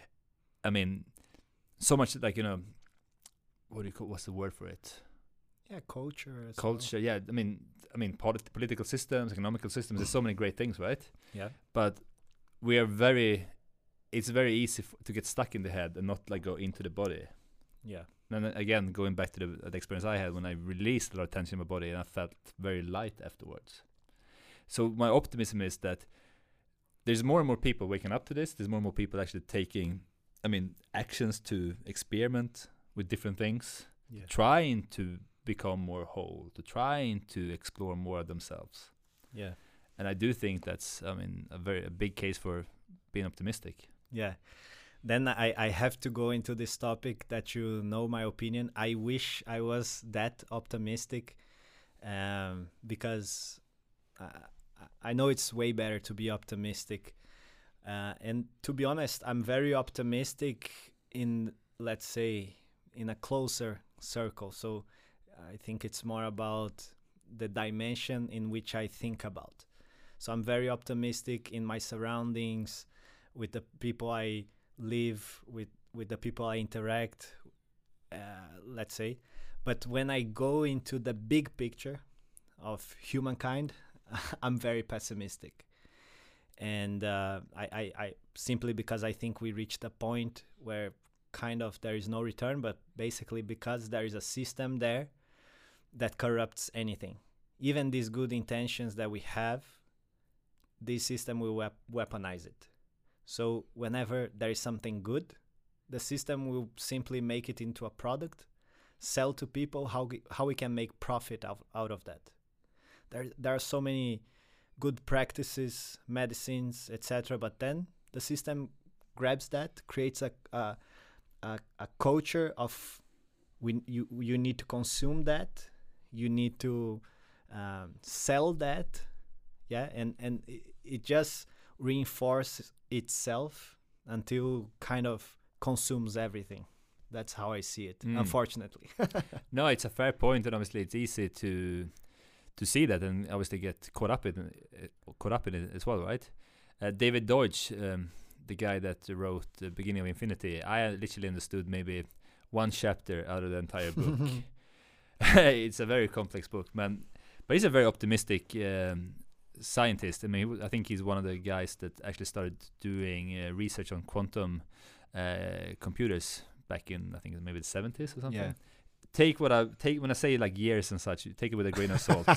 I mean, so much like, you know, what do you call? What's the word for it? Yeah, culture. as Culture. Yeah, I mean, I mean, polit- political systems, economical systems. There's so many great things, right? well. Yeah. But we are very. It's very easy f- to get stuck in the head and not like go into the body. Yeah. And then again, going back to the, the experience I had when I released a lot of tension in my body, and I felt very light afterwards. So my optimism is that there's more and more people waking up to this. There's more and more people actually taking, I mean, actions to experiment with different things, Yeah. trying to become more whole, to trying to explore more of themselves. Yeah. And I do think that's, I mean, a very a big case for being optimistic. Yeah. Then I, I have to go into this topic that you know my opinion. I wish I was that optimistic, um, because uh, I know it's way better to be optimistic. Uh, and to be honest, I'm very optimistic in, let's say, in a closer circle. So I think it's more about the dimension in which I think about. So I'm very optimistic in my surroundings, with the people I live with, with the people I interact, uh, let's say. But when I go into the big picture of humankind, I'm very pessimistic. And uh, I, I, I simply because I think we reached a point where kind of there is no return, but basically because there is a system there that corrupts anything. Even these good intentions that we have, this system will wep- weaponize it. So whenever there is something good, the system will simply make it into a product, sell to people how g- how we can make profit out, out of that. There there are so many good practices, medicines, et cetera. But then the system grabs that, creates a a, a, a culture of we you you need to consume that, you need to um, sell that, yeah, and and it, it just reinforces itself until kind of consumes everything. That's how I see it, Mm. unfortunately. No, it's a fair point, and obviously it's easy to to see that, and obviously get caught up in uh, caught up in it as well, right? Uh, David Deutsch, um, the guy that wrote The Beginning of Infinity, I literally understood maybe one chapter out of the entire book. It's a very complex book, man, but he's a very optimistic um, scientist. I mean, he w- I think he's one of the guys that actually started doing uh, research on quantum uh, computers back in, I think maybe the seventies or something. Yeah. Take what I take when I say like years and such. You take it with a grain of salt.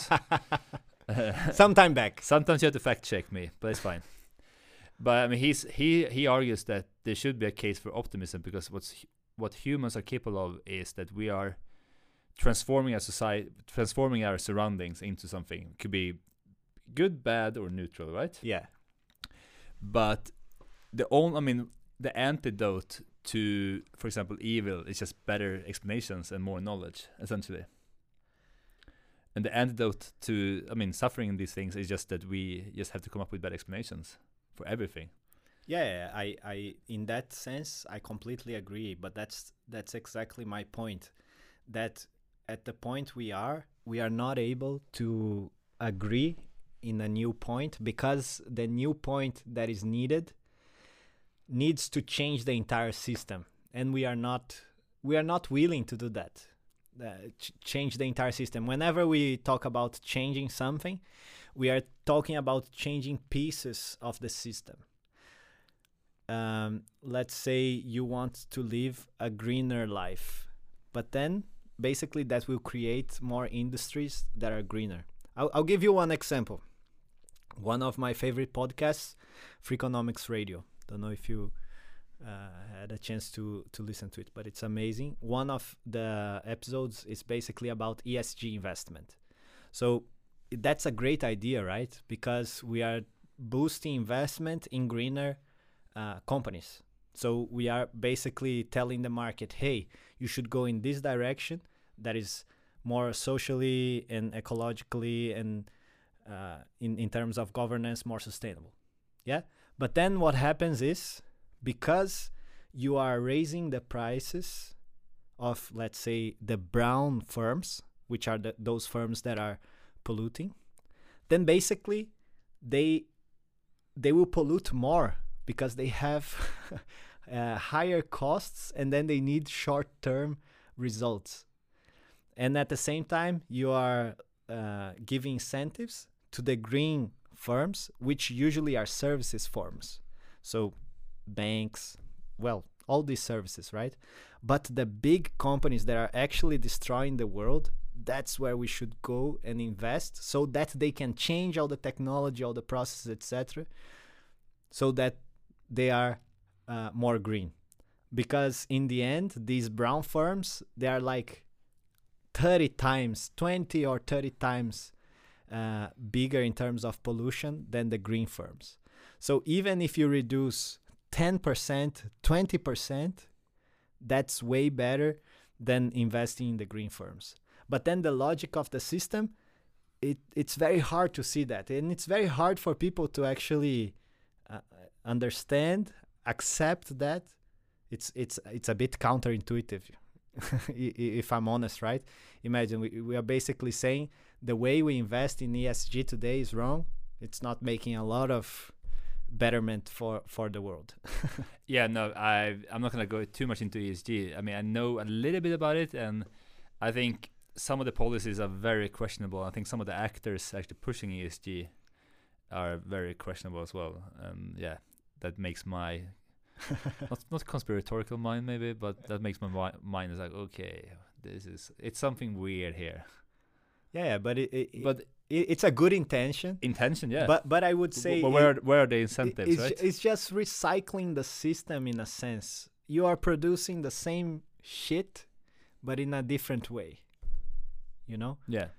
Some time back. Sometimes you have to fact check me, but it's fine. But I mean, he's he he argues that there should be a case for optimism, because what's hu- what humans are capable of is that we are transforming our society, transforming our surroundings into something. It could be good, bad, or neutral, right? Yeah. But the only, I mean, the antidote to, for example, evil is just better explanations and more knowledge, essentially. And the antidote to, I mean, suffering in these things is just that we just have to come up with better explanations for everything. Yeah, I, I, in that sense, I completely agree. But that's that's exactly my point. That at the point we are, we are not able to agree in a new point, because the new point that is needed needs to change the entire system, and we are not we are not willing to do that. Uh, ch- change the entire system. Whenever we talk about changing something, we are talking about changing pieces of the system. Um, let's say you want to live a greener life, but then basically that will create more industries that are greener. I'll, I'll give you one example. One of my favorite podcasts, Freakonomics Radio. Don't know if you uh, had a chance to to listen to it, but it's amazing. One of the episodes is basically about E S G investment. So that's a great idea, right? Because we are boosting investment in greener uh, companies. So we are basically telling the market, hey, you should go in this direction that is more socially and ecologically and uh, in, in terms of governance, more sustainable. Yeah. But then what happens is, because you are raising the prices of, let's say, the brown firms, which are the, those firms that are polluting, then basically they they will pollute more because they have uh, higher costs, and then they need short-term results. And at the same time, you are uh, giving incentives to the green firms, which usually are services firms. So banks, well, all these services, right? But the big companies that are actually destroying the world, that's where we should go and invest, so that they can change all the technology, all the processes, et cetera, so that they are uh, more green. Because in the end, these brown firms, they are like thirty times, twenty or thirty times uh, bigger in terms of pollution than the green firms. So even if you reduce ten percent, twenty percent, that's way better than investing in the green firms. But then the logic of the system, it it's very hard to see that. And it's very hard for people to actually uh, understand, accept that. It's it's it's a bit counterintuitive, if I'm honest, right? Imagine we, we are basically saying the way we invest in E S G today is wrong. It's not making a lot of betterment for, for the world. Yeah, no, I I'm not gonna go too much into E S G. I mean, I know a little bit about it, and I think some of the policies are very questionable. I think some of the actors actually pushing E S G are very questionable as well. And yeah, that makes my not not conspiratorial mind maybe, but that makes my wi- mind is like, okay, this is it's something weird here. Yeah, yeah, but it, it But it, it's a good intention. intention, yeah. But but I would B- say but where it- where are the it- incentives, it's, right? ju- it's just recycling the system in a sense. You are producing the same shit, but in a different way. You know? Yeah.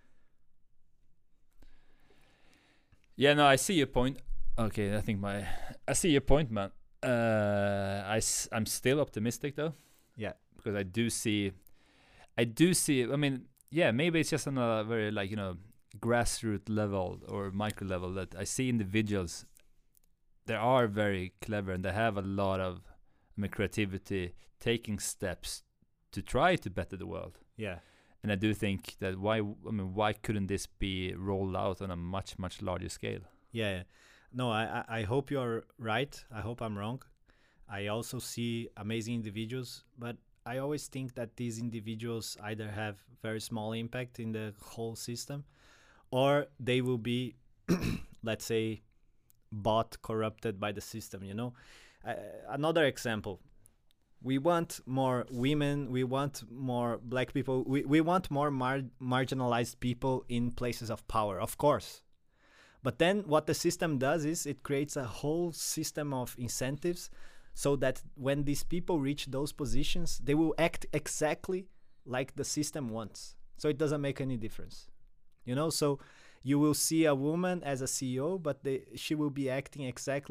Yeah, no, I see your point. Okay, I think my I see your point, man. Uh, I s- I'm still optimistic though. Yeah. Because I do see, I do see. I mean, yeah, maybe it's just on a very like you know grassroots level or micro level that I see individuals. They are very clever and they have a lot of, I mean, creativity, taking steps to try to better the world. Yeah. And I do think that why I mean why couldn't this be rolled out on a much much larger scale? Yeah. yeah. No, I, I I hope you're right. I hope I'm wrong. I also see amazing individuals, but I always think that these individuals either have very small impact in the whole system, or they will be, let's say, bought, corrupted by the system, you know? Uh, another example. We want more women, we want more black people, we, we want more mar- marginalized people in places of power, of course. But then what the system does is it creates a whole system of incentives so that when these people reach those positions, they will act exactly like the system wants. So it doesn't make any difference. You know, so you will see a woman as a C E O, but they, she will be acting exactly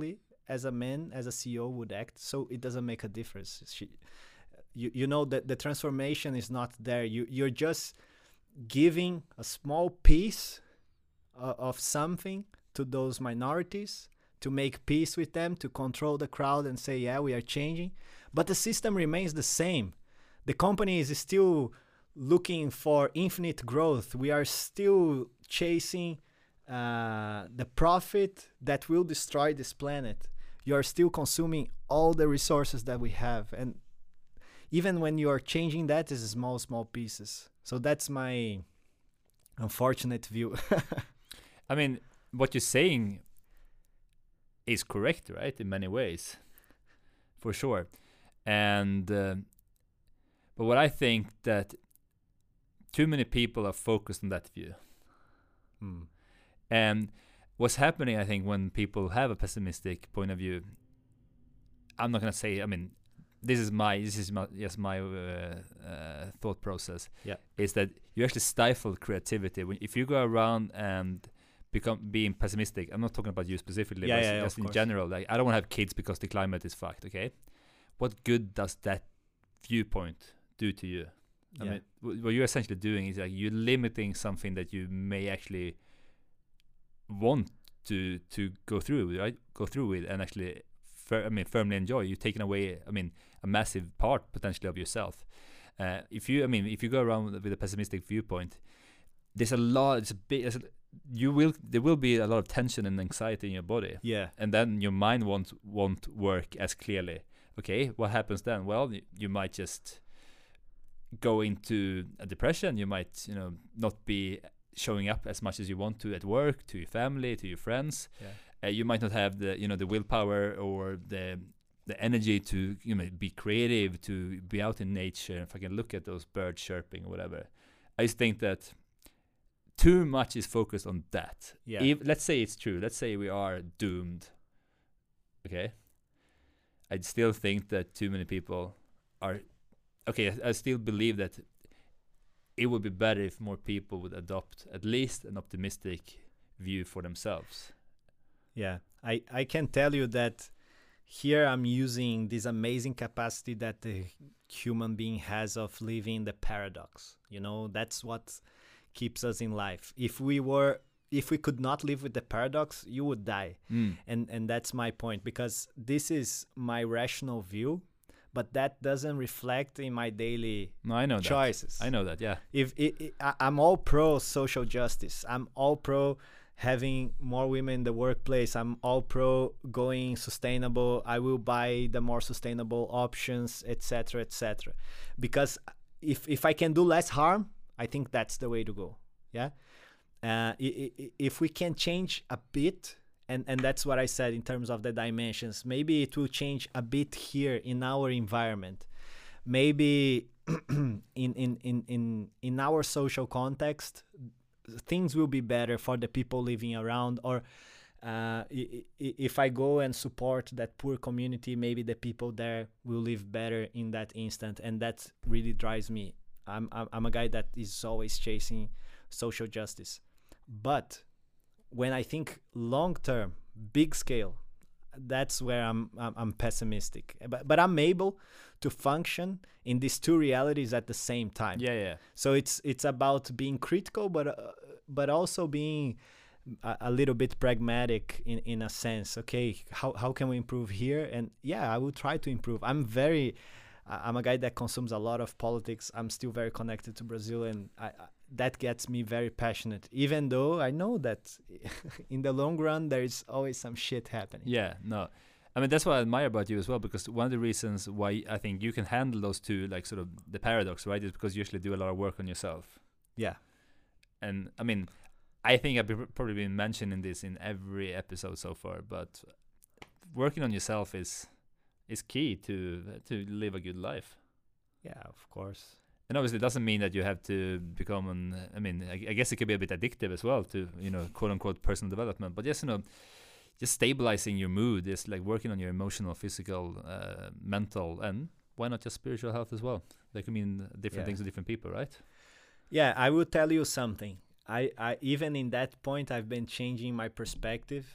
as a man, as a C E O would act. So it doesn't make a difference. She, you you know that the transformation is not there. You you're just giving a small piece uh, of something to those minorities to make peace with them, to control the crowd and say, yeah, we are changing. But the system remains the same. The company is still looking for infinite growth. We are still chasing uh, the profit that will destroy this planet. You are still consuming all the resources that we have. And even when you are changing that, is small, small pieces. So that's my unfortunate view. I mean, what you're saying is correct, right? In many ways, for sure. And uh, but what I think that too many people are focused on that view. Hmm. And what's happening, I think, when people have a pessimistic point of view, I'm not gonna say. I mean, this is my this is my yes my uh, uh, thought process. Yeah, is that you actually stifle creativity when if you go around and become being pessimistic. I'm not talking about you specifically, Yeah, but yeah, yeah, just of in course. general. Like, I don't want to have kids because the climate is fucked. Okay, what good does that viewpoint do to you? I yeah, mean, wh- what you're essentially doing is like you're limiting something that you may actually want to to go through, right? Go through with and actually, fir- I mean, firmly enjoy. You're taking away, I mean, a massive part potentially of yourself. Uh, if you, I mean, if you go around with a pessimistic viewpoint, there's a lot. It's a big. It's a, you will. There will be a lot of tension and anxiety in your body, yeah, and then your mind won't won't work as clearly. Okay, what happens then? Well, y- you might just go into a depression. You might, you know, not be showing up as much as you want to at work, to your family, to your friends. yeah, Uh, you might not have the, you know, the willpower or the the energy to, you know, be creative, to be out in nature. If I can look at those birds chirping or whatever, I just think that too much is focused on that. yeah. If, let's say it's true. Let's say we are doomed. Okay. I still think that too many people are. Okay, I, I still believe that it would be better if more people would adopt at least an optimistic view for themselves. Yeah, I, I can tell you that here I'm using this amazing capacity that the human being has of living the paradox. You know, that's what keeps us in life. If we were, if we could not live with the paradox, you would die. Mm. And and that's my point, because this is my rational view, but that doesn't reflect in my daily No, I know choices. that. I know that. Yeah. If it, it, I, I'm all pro social justice, I'm all pro having more women in the workplace, I'm all pro going sustainable, I will buy the more sustainable options, etc, etc, because if if I can do less harm, I think that's the way to go. Yeah, uh, i- i- if we can change a bit, and and that's what I said in terms of the dimensions, maybe it will change a bit here in our environment, maybe in in in in in our social context, things will be better for the people living around. Or uh, i- i- if I go and support that poor community, maybe the people there will live better in that instant, and that really drives me. I'm I'm, I'm a guy that is always chasing social justice, but when I think long term, big scale, that's where I'm I'm, I'm pessimistic. But but I'm able to function in these two realities at the same time. Yeah. Yeah. So it's it's about being critical, but uh, but also being a, a little bit pragmatic in, in a sense. Okay, how how can we improve here? And yeah, I will try to improve. I'm very, I- I'm a guy that consumes a lot of politics. I'm still very connected to Brazil, and I, I that gets me very passionate. Even though I know that in the long run there is always some shit happening. Yeah. No. I mean, that's what I admire about you as well, because one of the reasons why I think you can handle those two, like sort of the paradox, right, is because you usually do a lot of work on yourself. Yeah, And I mean, I think I've be- probably been mentioning this in every episode so far, but working on yourself is is key to to live a good life. yeah, of course. And obviously, it doesn't mean that you have to become an. I mean, I, I guess it could be a bit addictive as well to, you know, quote unquote personal development. But just, you know, just stabilizing your mood, just like working on your emotional, physical, uh, mental, and why not just spiritual health as well? They can mean different Yeah. things to different people, right? Yeah, I will tell you something. I, I even in that point I've been changing my perspective,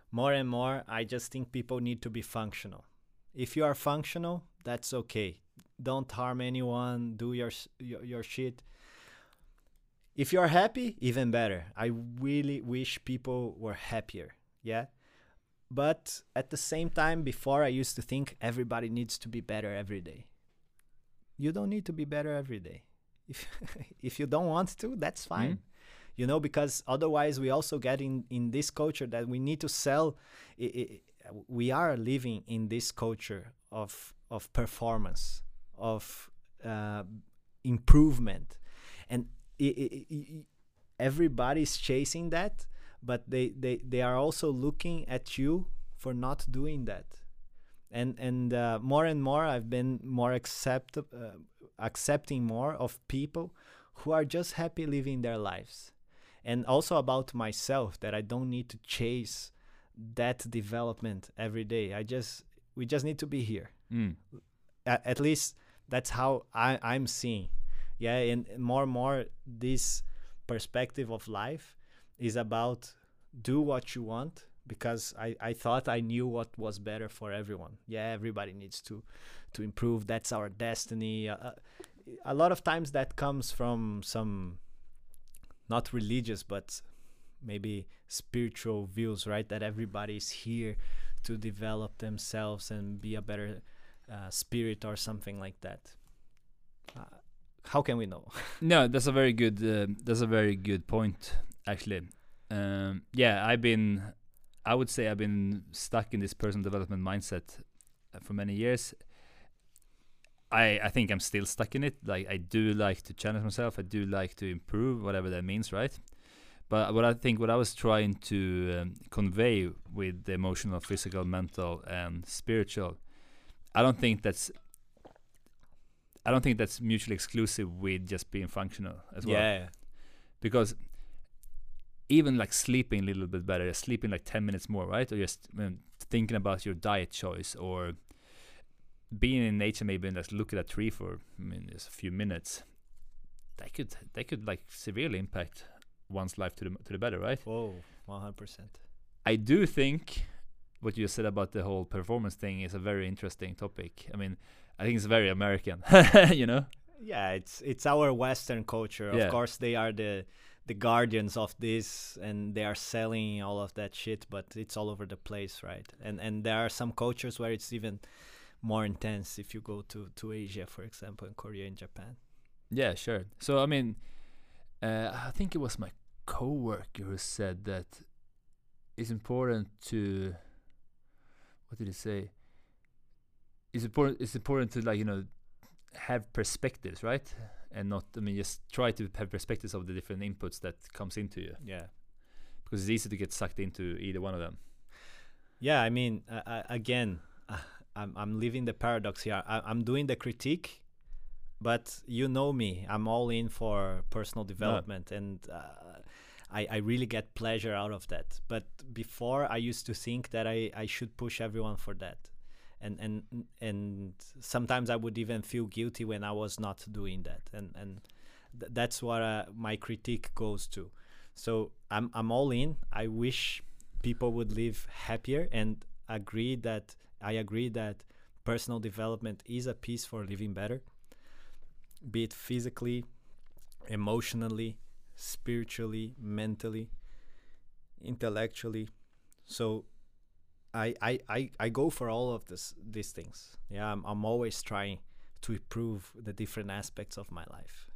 more and more, I just think people need to be functional. If you are functional, that's okay. Don't harm anyone. Do your s- your, your shit. If you are happy, even better. I really wish people were happier. Yeah. But at the same time, before I used to think everybody needs to be better every day. You don't need to be better every day. If if you don't want to, that's fine. Mm. You know, because otherwise we also get in, in this culture that we need to sell. I, I, we are living in this culture of of performance, of uh, improvement, and I, I, I, everybody's chasing that, but they, they, they are also looking at you for not doing that. And and uh, more and more, I've been more accept uh, accepting more of people who are just happy living their lives, and also about myself, that I don't need to chase that development every day. I just we just need to be here. Mm. A- at least that's how I, I'm seeing. Yeah, and more and more, this perspective of life is about do what you want, because I, I thought I knew what was better for everyone. Yeah, everybody needs to to improve. That's our destiny. Uh, a lot of times that comes from some not religious, but maybe spiritual views, right? That everybody is here to develop themselves and be a better uh, spirit or something like that. Uh, how can we know? No, that's a very good. Uh, that's a very good point, actually. Um, yeah, I've been. I would say I've been stuck in this personal development mindset uh, for many years. I I think I'm still stuck in it. Like, I do like to challenge myself. I do like to improve, whatever that means, right? But what I think, what I was trying to um, convey with the emotional, physical, mental, and spiritual, I don't think that's. I don't think that's mutually exclusive with just being functional as well. Yeah. Because even like sleeping a little bit better, sleeping like ten minutes more, right? Or just um, thinking about your diet choice, or being in nature, maybe, and just look at a tree for, I mean, just a few minutes. That could that could like severely impact one's life to the to the better, right? Whoa, one hundred percent. I do think what you said about the whole performance thing is a very interesting topic. I mean, I think it's very American, you know? Yeah, it's it's our Western culture. Yeah. Of course, they are the the guardians of this, and they are selling all of that shit. But it's all over the place, right? And and there are some cultures where it's even more intense. If you go to to Asia, for example, in Korea and Japan. Yeah, sure. So I mean, uh, I think it was my coworker who said that it's important to. What did he say? It's important. It's important to, like, you know, have perspectives, right? And not, I mean, just try to have perspectives of the different inputs that comes into you, Yeah. because it's easy to get sucked into either one of them. Yeah, I mean, uh, uh, again, uh, I'm I'm living the paradox here. I, I'm doing the critique, but you know me, I'm all in for personal development, and uh, I I really get pleasure out of that. But before, I used to think that I I should push everyone for that, and and and sometimes I would even feel guilty when I was not doing that, and and th- that's what uh, my critique goes to. So I'm I'm all in. I wish people would live happier, and agree that I agree that personal development is a piece for living better, be it physically, emotionally, spiritually, mentally, intellectually. So I I, I, I go for all of this these things. Yeah, I'm I'm always trying to improve the different aspects of my life.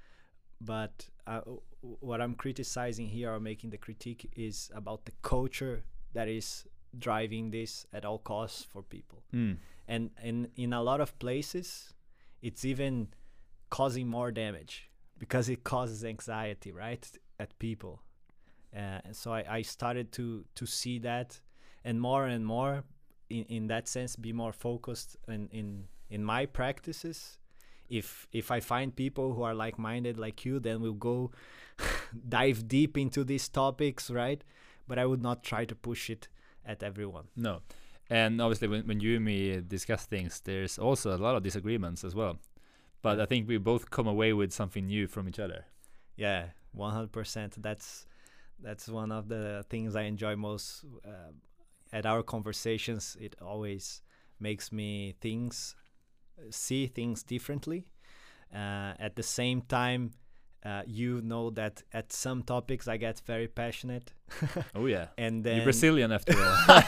But uh, w- what I'm criticizing here, or making the critique, is about the culture that is driving this at all costs for people. Mm. And in in a lot of places, it's even causing more damage, because it causes anxiety, right, at people. Uh, and so I, I started to to see that, and more and more, in, in that sense, be more focused in, in in my practices. If if I find people who are like-minded like you, then we'll go dive deep into these topics, right? But I would not try to push it at everyone. No. And obviously, when, when you and me discuss things, there's also a lot of disagreements as well. But I think we both come away with something new from each other. Yeah, one hundred percent. That's that's one of the things I enjoy most uh, at our conversations, it always makes me things see things differently. Uh, at the same time, uh, you know that at some topics I get very passionate. Oh yeah, and then you're Brazilian after all.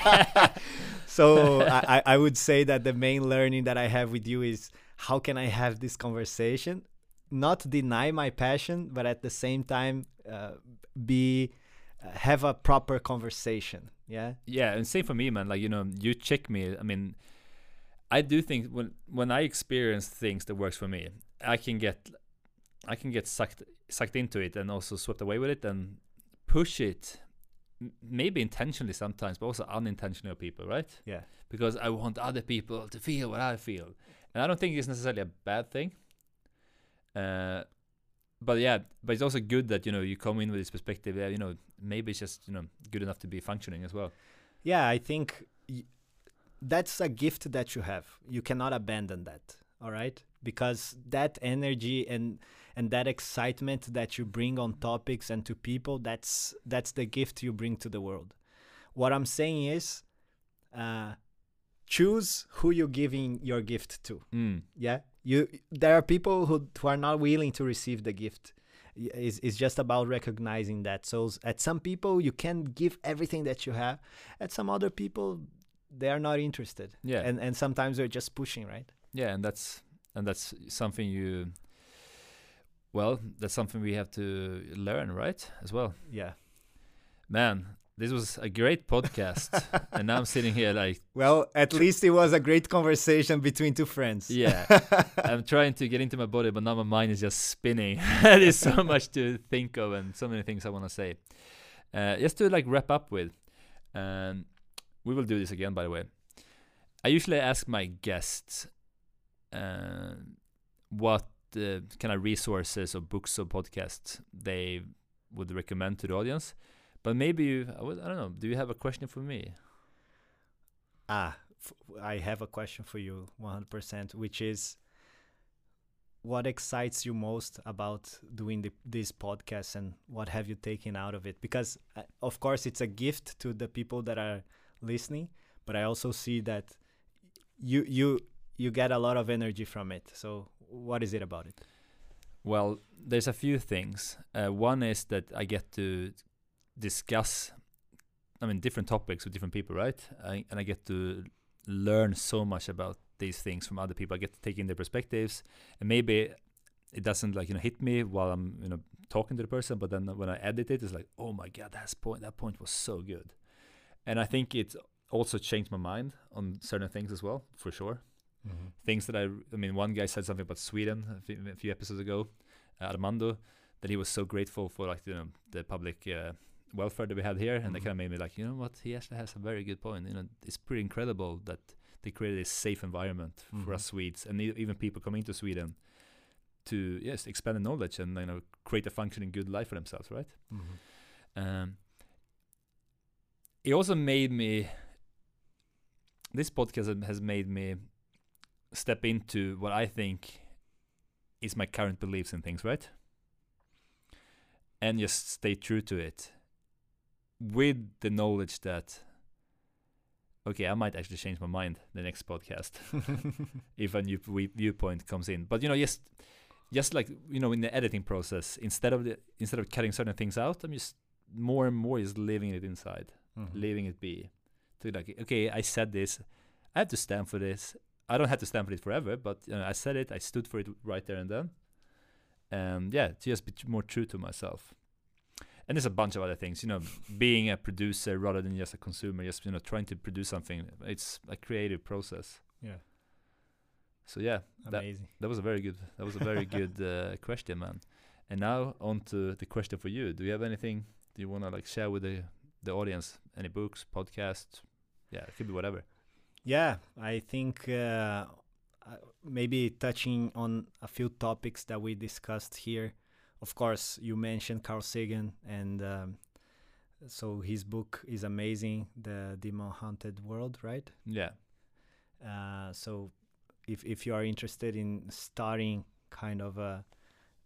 So I, I would say that the main learning that I have with you is how can I have this conversation, not deny my passion, but at the same time uh, be uh, have a proper conversation. Yeah. Yeah, and same for me, man. Like, you know, you check me. I mean, I do think when when I experience things that works for me, I can get I can get sucked sucked into it and also swept away with it and push it, m- maybe intentionally sometimes, but also unintentionally of people, right? Yeah. Because I want other people to feel what I feel, and I don't think it's necessarily a bad thing. Uh, but yeah, but it's also good that, you know, you come in with this perspective. Yeah, you know, maybe it's just, you know, good enough to be functioning as well. Yeah, I think y- that's a gift that you have. You cannot abandon that. All right, because that energy and and that excitement that you bring on topics and to people, that's that's the gift you bring to the world. What I'm saying is, uh, choose who you're giving your gift to. Mm. Yeah, you there are people who, who are not willing to receive the gift. Y- It's, it's just about recognizing that. So s- at some people you can give everything that you have. At some other people, they are not interested. Yeah. And and sometimes they're just pushing, right? Yeah, and that's and that's something you. Well, that's something we have to learn, right? As well. Yeah. Man, this was a great podcast, and now I'm sitting here like, Well, at least it was a great conversation between two friends. yeah, I'm trying to get into my body, but now my mind is just spinning. There's so much to think of and so many things I want to say. Uh, just to like wrap up with, um, we will do this again, by the way. I usually ask my guests uh, what uh, kind of resources or books or podcasts they would recommend to the audience. But maybe you, I, would, I don't know, do you have a question for me? Ah, f- I have a question for you, one hundred percent, which is, what excites you most about doing the, this podcast, and what have you taken out of it? Because, uh, of course, it's a gift to the people that are listening, but I also see that you you you get a lot of energy from it. So what is it about it? Well, there's a few things. Uh, one is that I get to discuss, I mean, different topics with different people, right? I, and I get to learn so much about these things from other people. I get to take in their perspectives, and maybe it doesn't like, you know, hit me while I'm, you know, talking to the person, but then when I edit it, it's like, oh my god, that's point that point was so good. And I think it also changed my mind on certain things as well, for sure. Mm-hmm. Things that I, I mean, one guy said something about Sweden a few, a few episodes ago, uh, Armando, that he was so grateful for, like, you know, the public uh, welfare that we had here, and Mhm. that kind of made me like, you know what, he actually has a very good point. You know, it's pretty incredible that they created a safe environment Mhm. for us Swedes, and e- even people coming to Sweden to, yes, expand the knowledge and, you know, create a functioning good life for themselves, right? Mm-hmm. Um, it also made me, this podcast has- has made me step into what I think is my current beliefs and things, right? And just stay true to it with the knowledge that, okay, I might actually change my mind the next podcast if a new v- viewpoint comes in. But, you know, just just like, you know, in the editing process, instead of the instead of cutting certain things out, I'm just more and more just leaving it inside, Mhm. leaving it be. To like, okay, I said this, I have to stand for this. I don't have to stand for it forever, but, you know, I said it, I stood for it right there and then. And yeah, to just be t- more true to myself. And there's a bunch of other things, you know, being a producer rather than just a consumer, just, you know, trying to produce something. It's a creative process. Yeah. So yeah, that Amazing. that was a very good that was a very good uh, question, man. And now on to the question for you. Do you have anything do you want to like share with the the audience? Any books, podcasts? Yeah, it could be whatever. Yeah, I think uh, uh, maybe touching on a few topics that we discussed here. Of course, you mentioned Carl Sagan, and um, so his book is amazing, The Demon Haunted World, right? Yeah. Uh, so if if you are interested in starting kind of a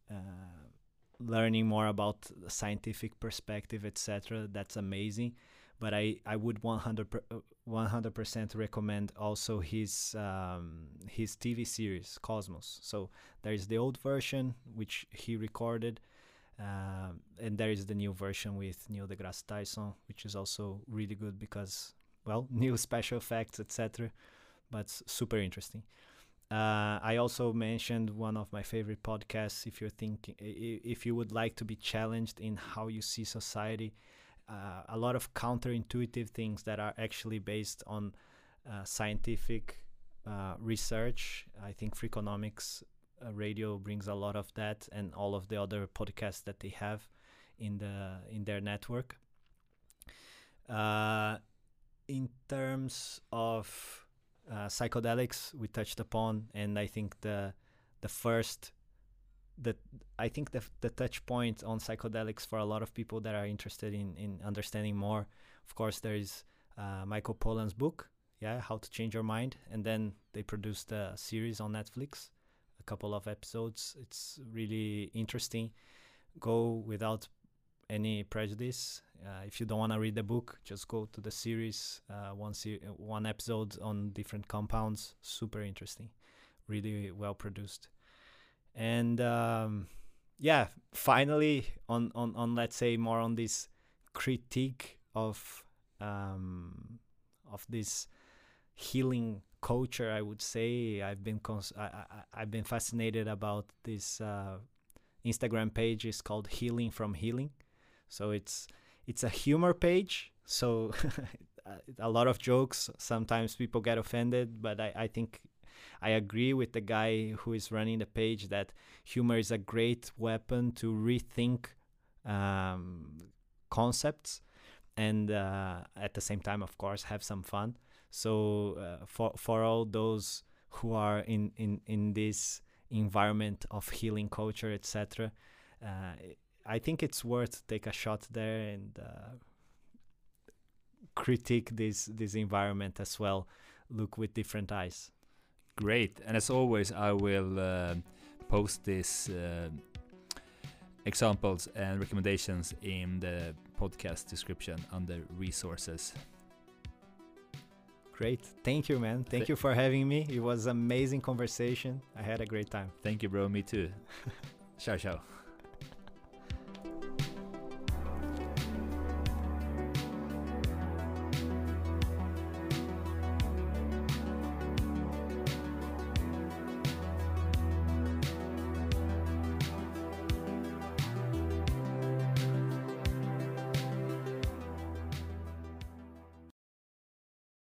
uh, learning more about the scientific perspective, et cetera, that's amazing. but I, I would one hundred percent recommend also his um, his T V series Cosmos. So there is the old version which he recorded, um, and there is the new version with Neil deGrasse Tyson, which is also really good because, well, new special effects, et cetera. But super interesting. Uh, I also mentioned one of my favorite podcasts. If you're thinking, if you would like to be challenged in how you see society, uh, a lot of counterintuitive things that are actually based on uh, scientific uh, research. I think Freakonomics uh, Radio brings a lot of that, and all of the other podcasts that they have in the in their network. Uh, in terms of Uh, psychedelics we touched upon, and I think the the first the I think the the touch point on psychedelics for a lot of people that are interested in in understanding more, of course, there is uh, Michael Pollan's book, yeah, How to Change Your Mind, and then they produced a series on Netflix, a couple of episodes. It's really interesting. Go without any prejudice. Uh, if you don't want to read the book, just go to the series. Uh, one se- one episode on different compounds. Super interesting, really well produced. And um, yeah, finally, on, on on let's say more on this critique of um, of this healing culture. I would say I've been cons- I, I I've been fascinated about this uh, Instagram page. Is called Healing from Healing. So it's it's a humor page, so a lot of jokes. Sometimes people get offended, but I, I think I agree with the guy who is running the page that humor is a great weapon to rethink um, concepts, and uh, at the same time, of course, have some fun. So uh, for for all those who are in, in, in this environment of healing culture, et cetera, uh, I think it's worth take a shot there and uh, critique this this environment as well. Look with different eyes. Great, and as always, I will uh, post these uh, examples and recommendations in the podcast description under resources. Great, thank you, man. Thank Th- you for having me. It was an amazing conversation. I had a great time. Thank you, bro. Me too. Ciao, ciao.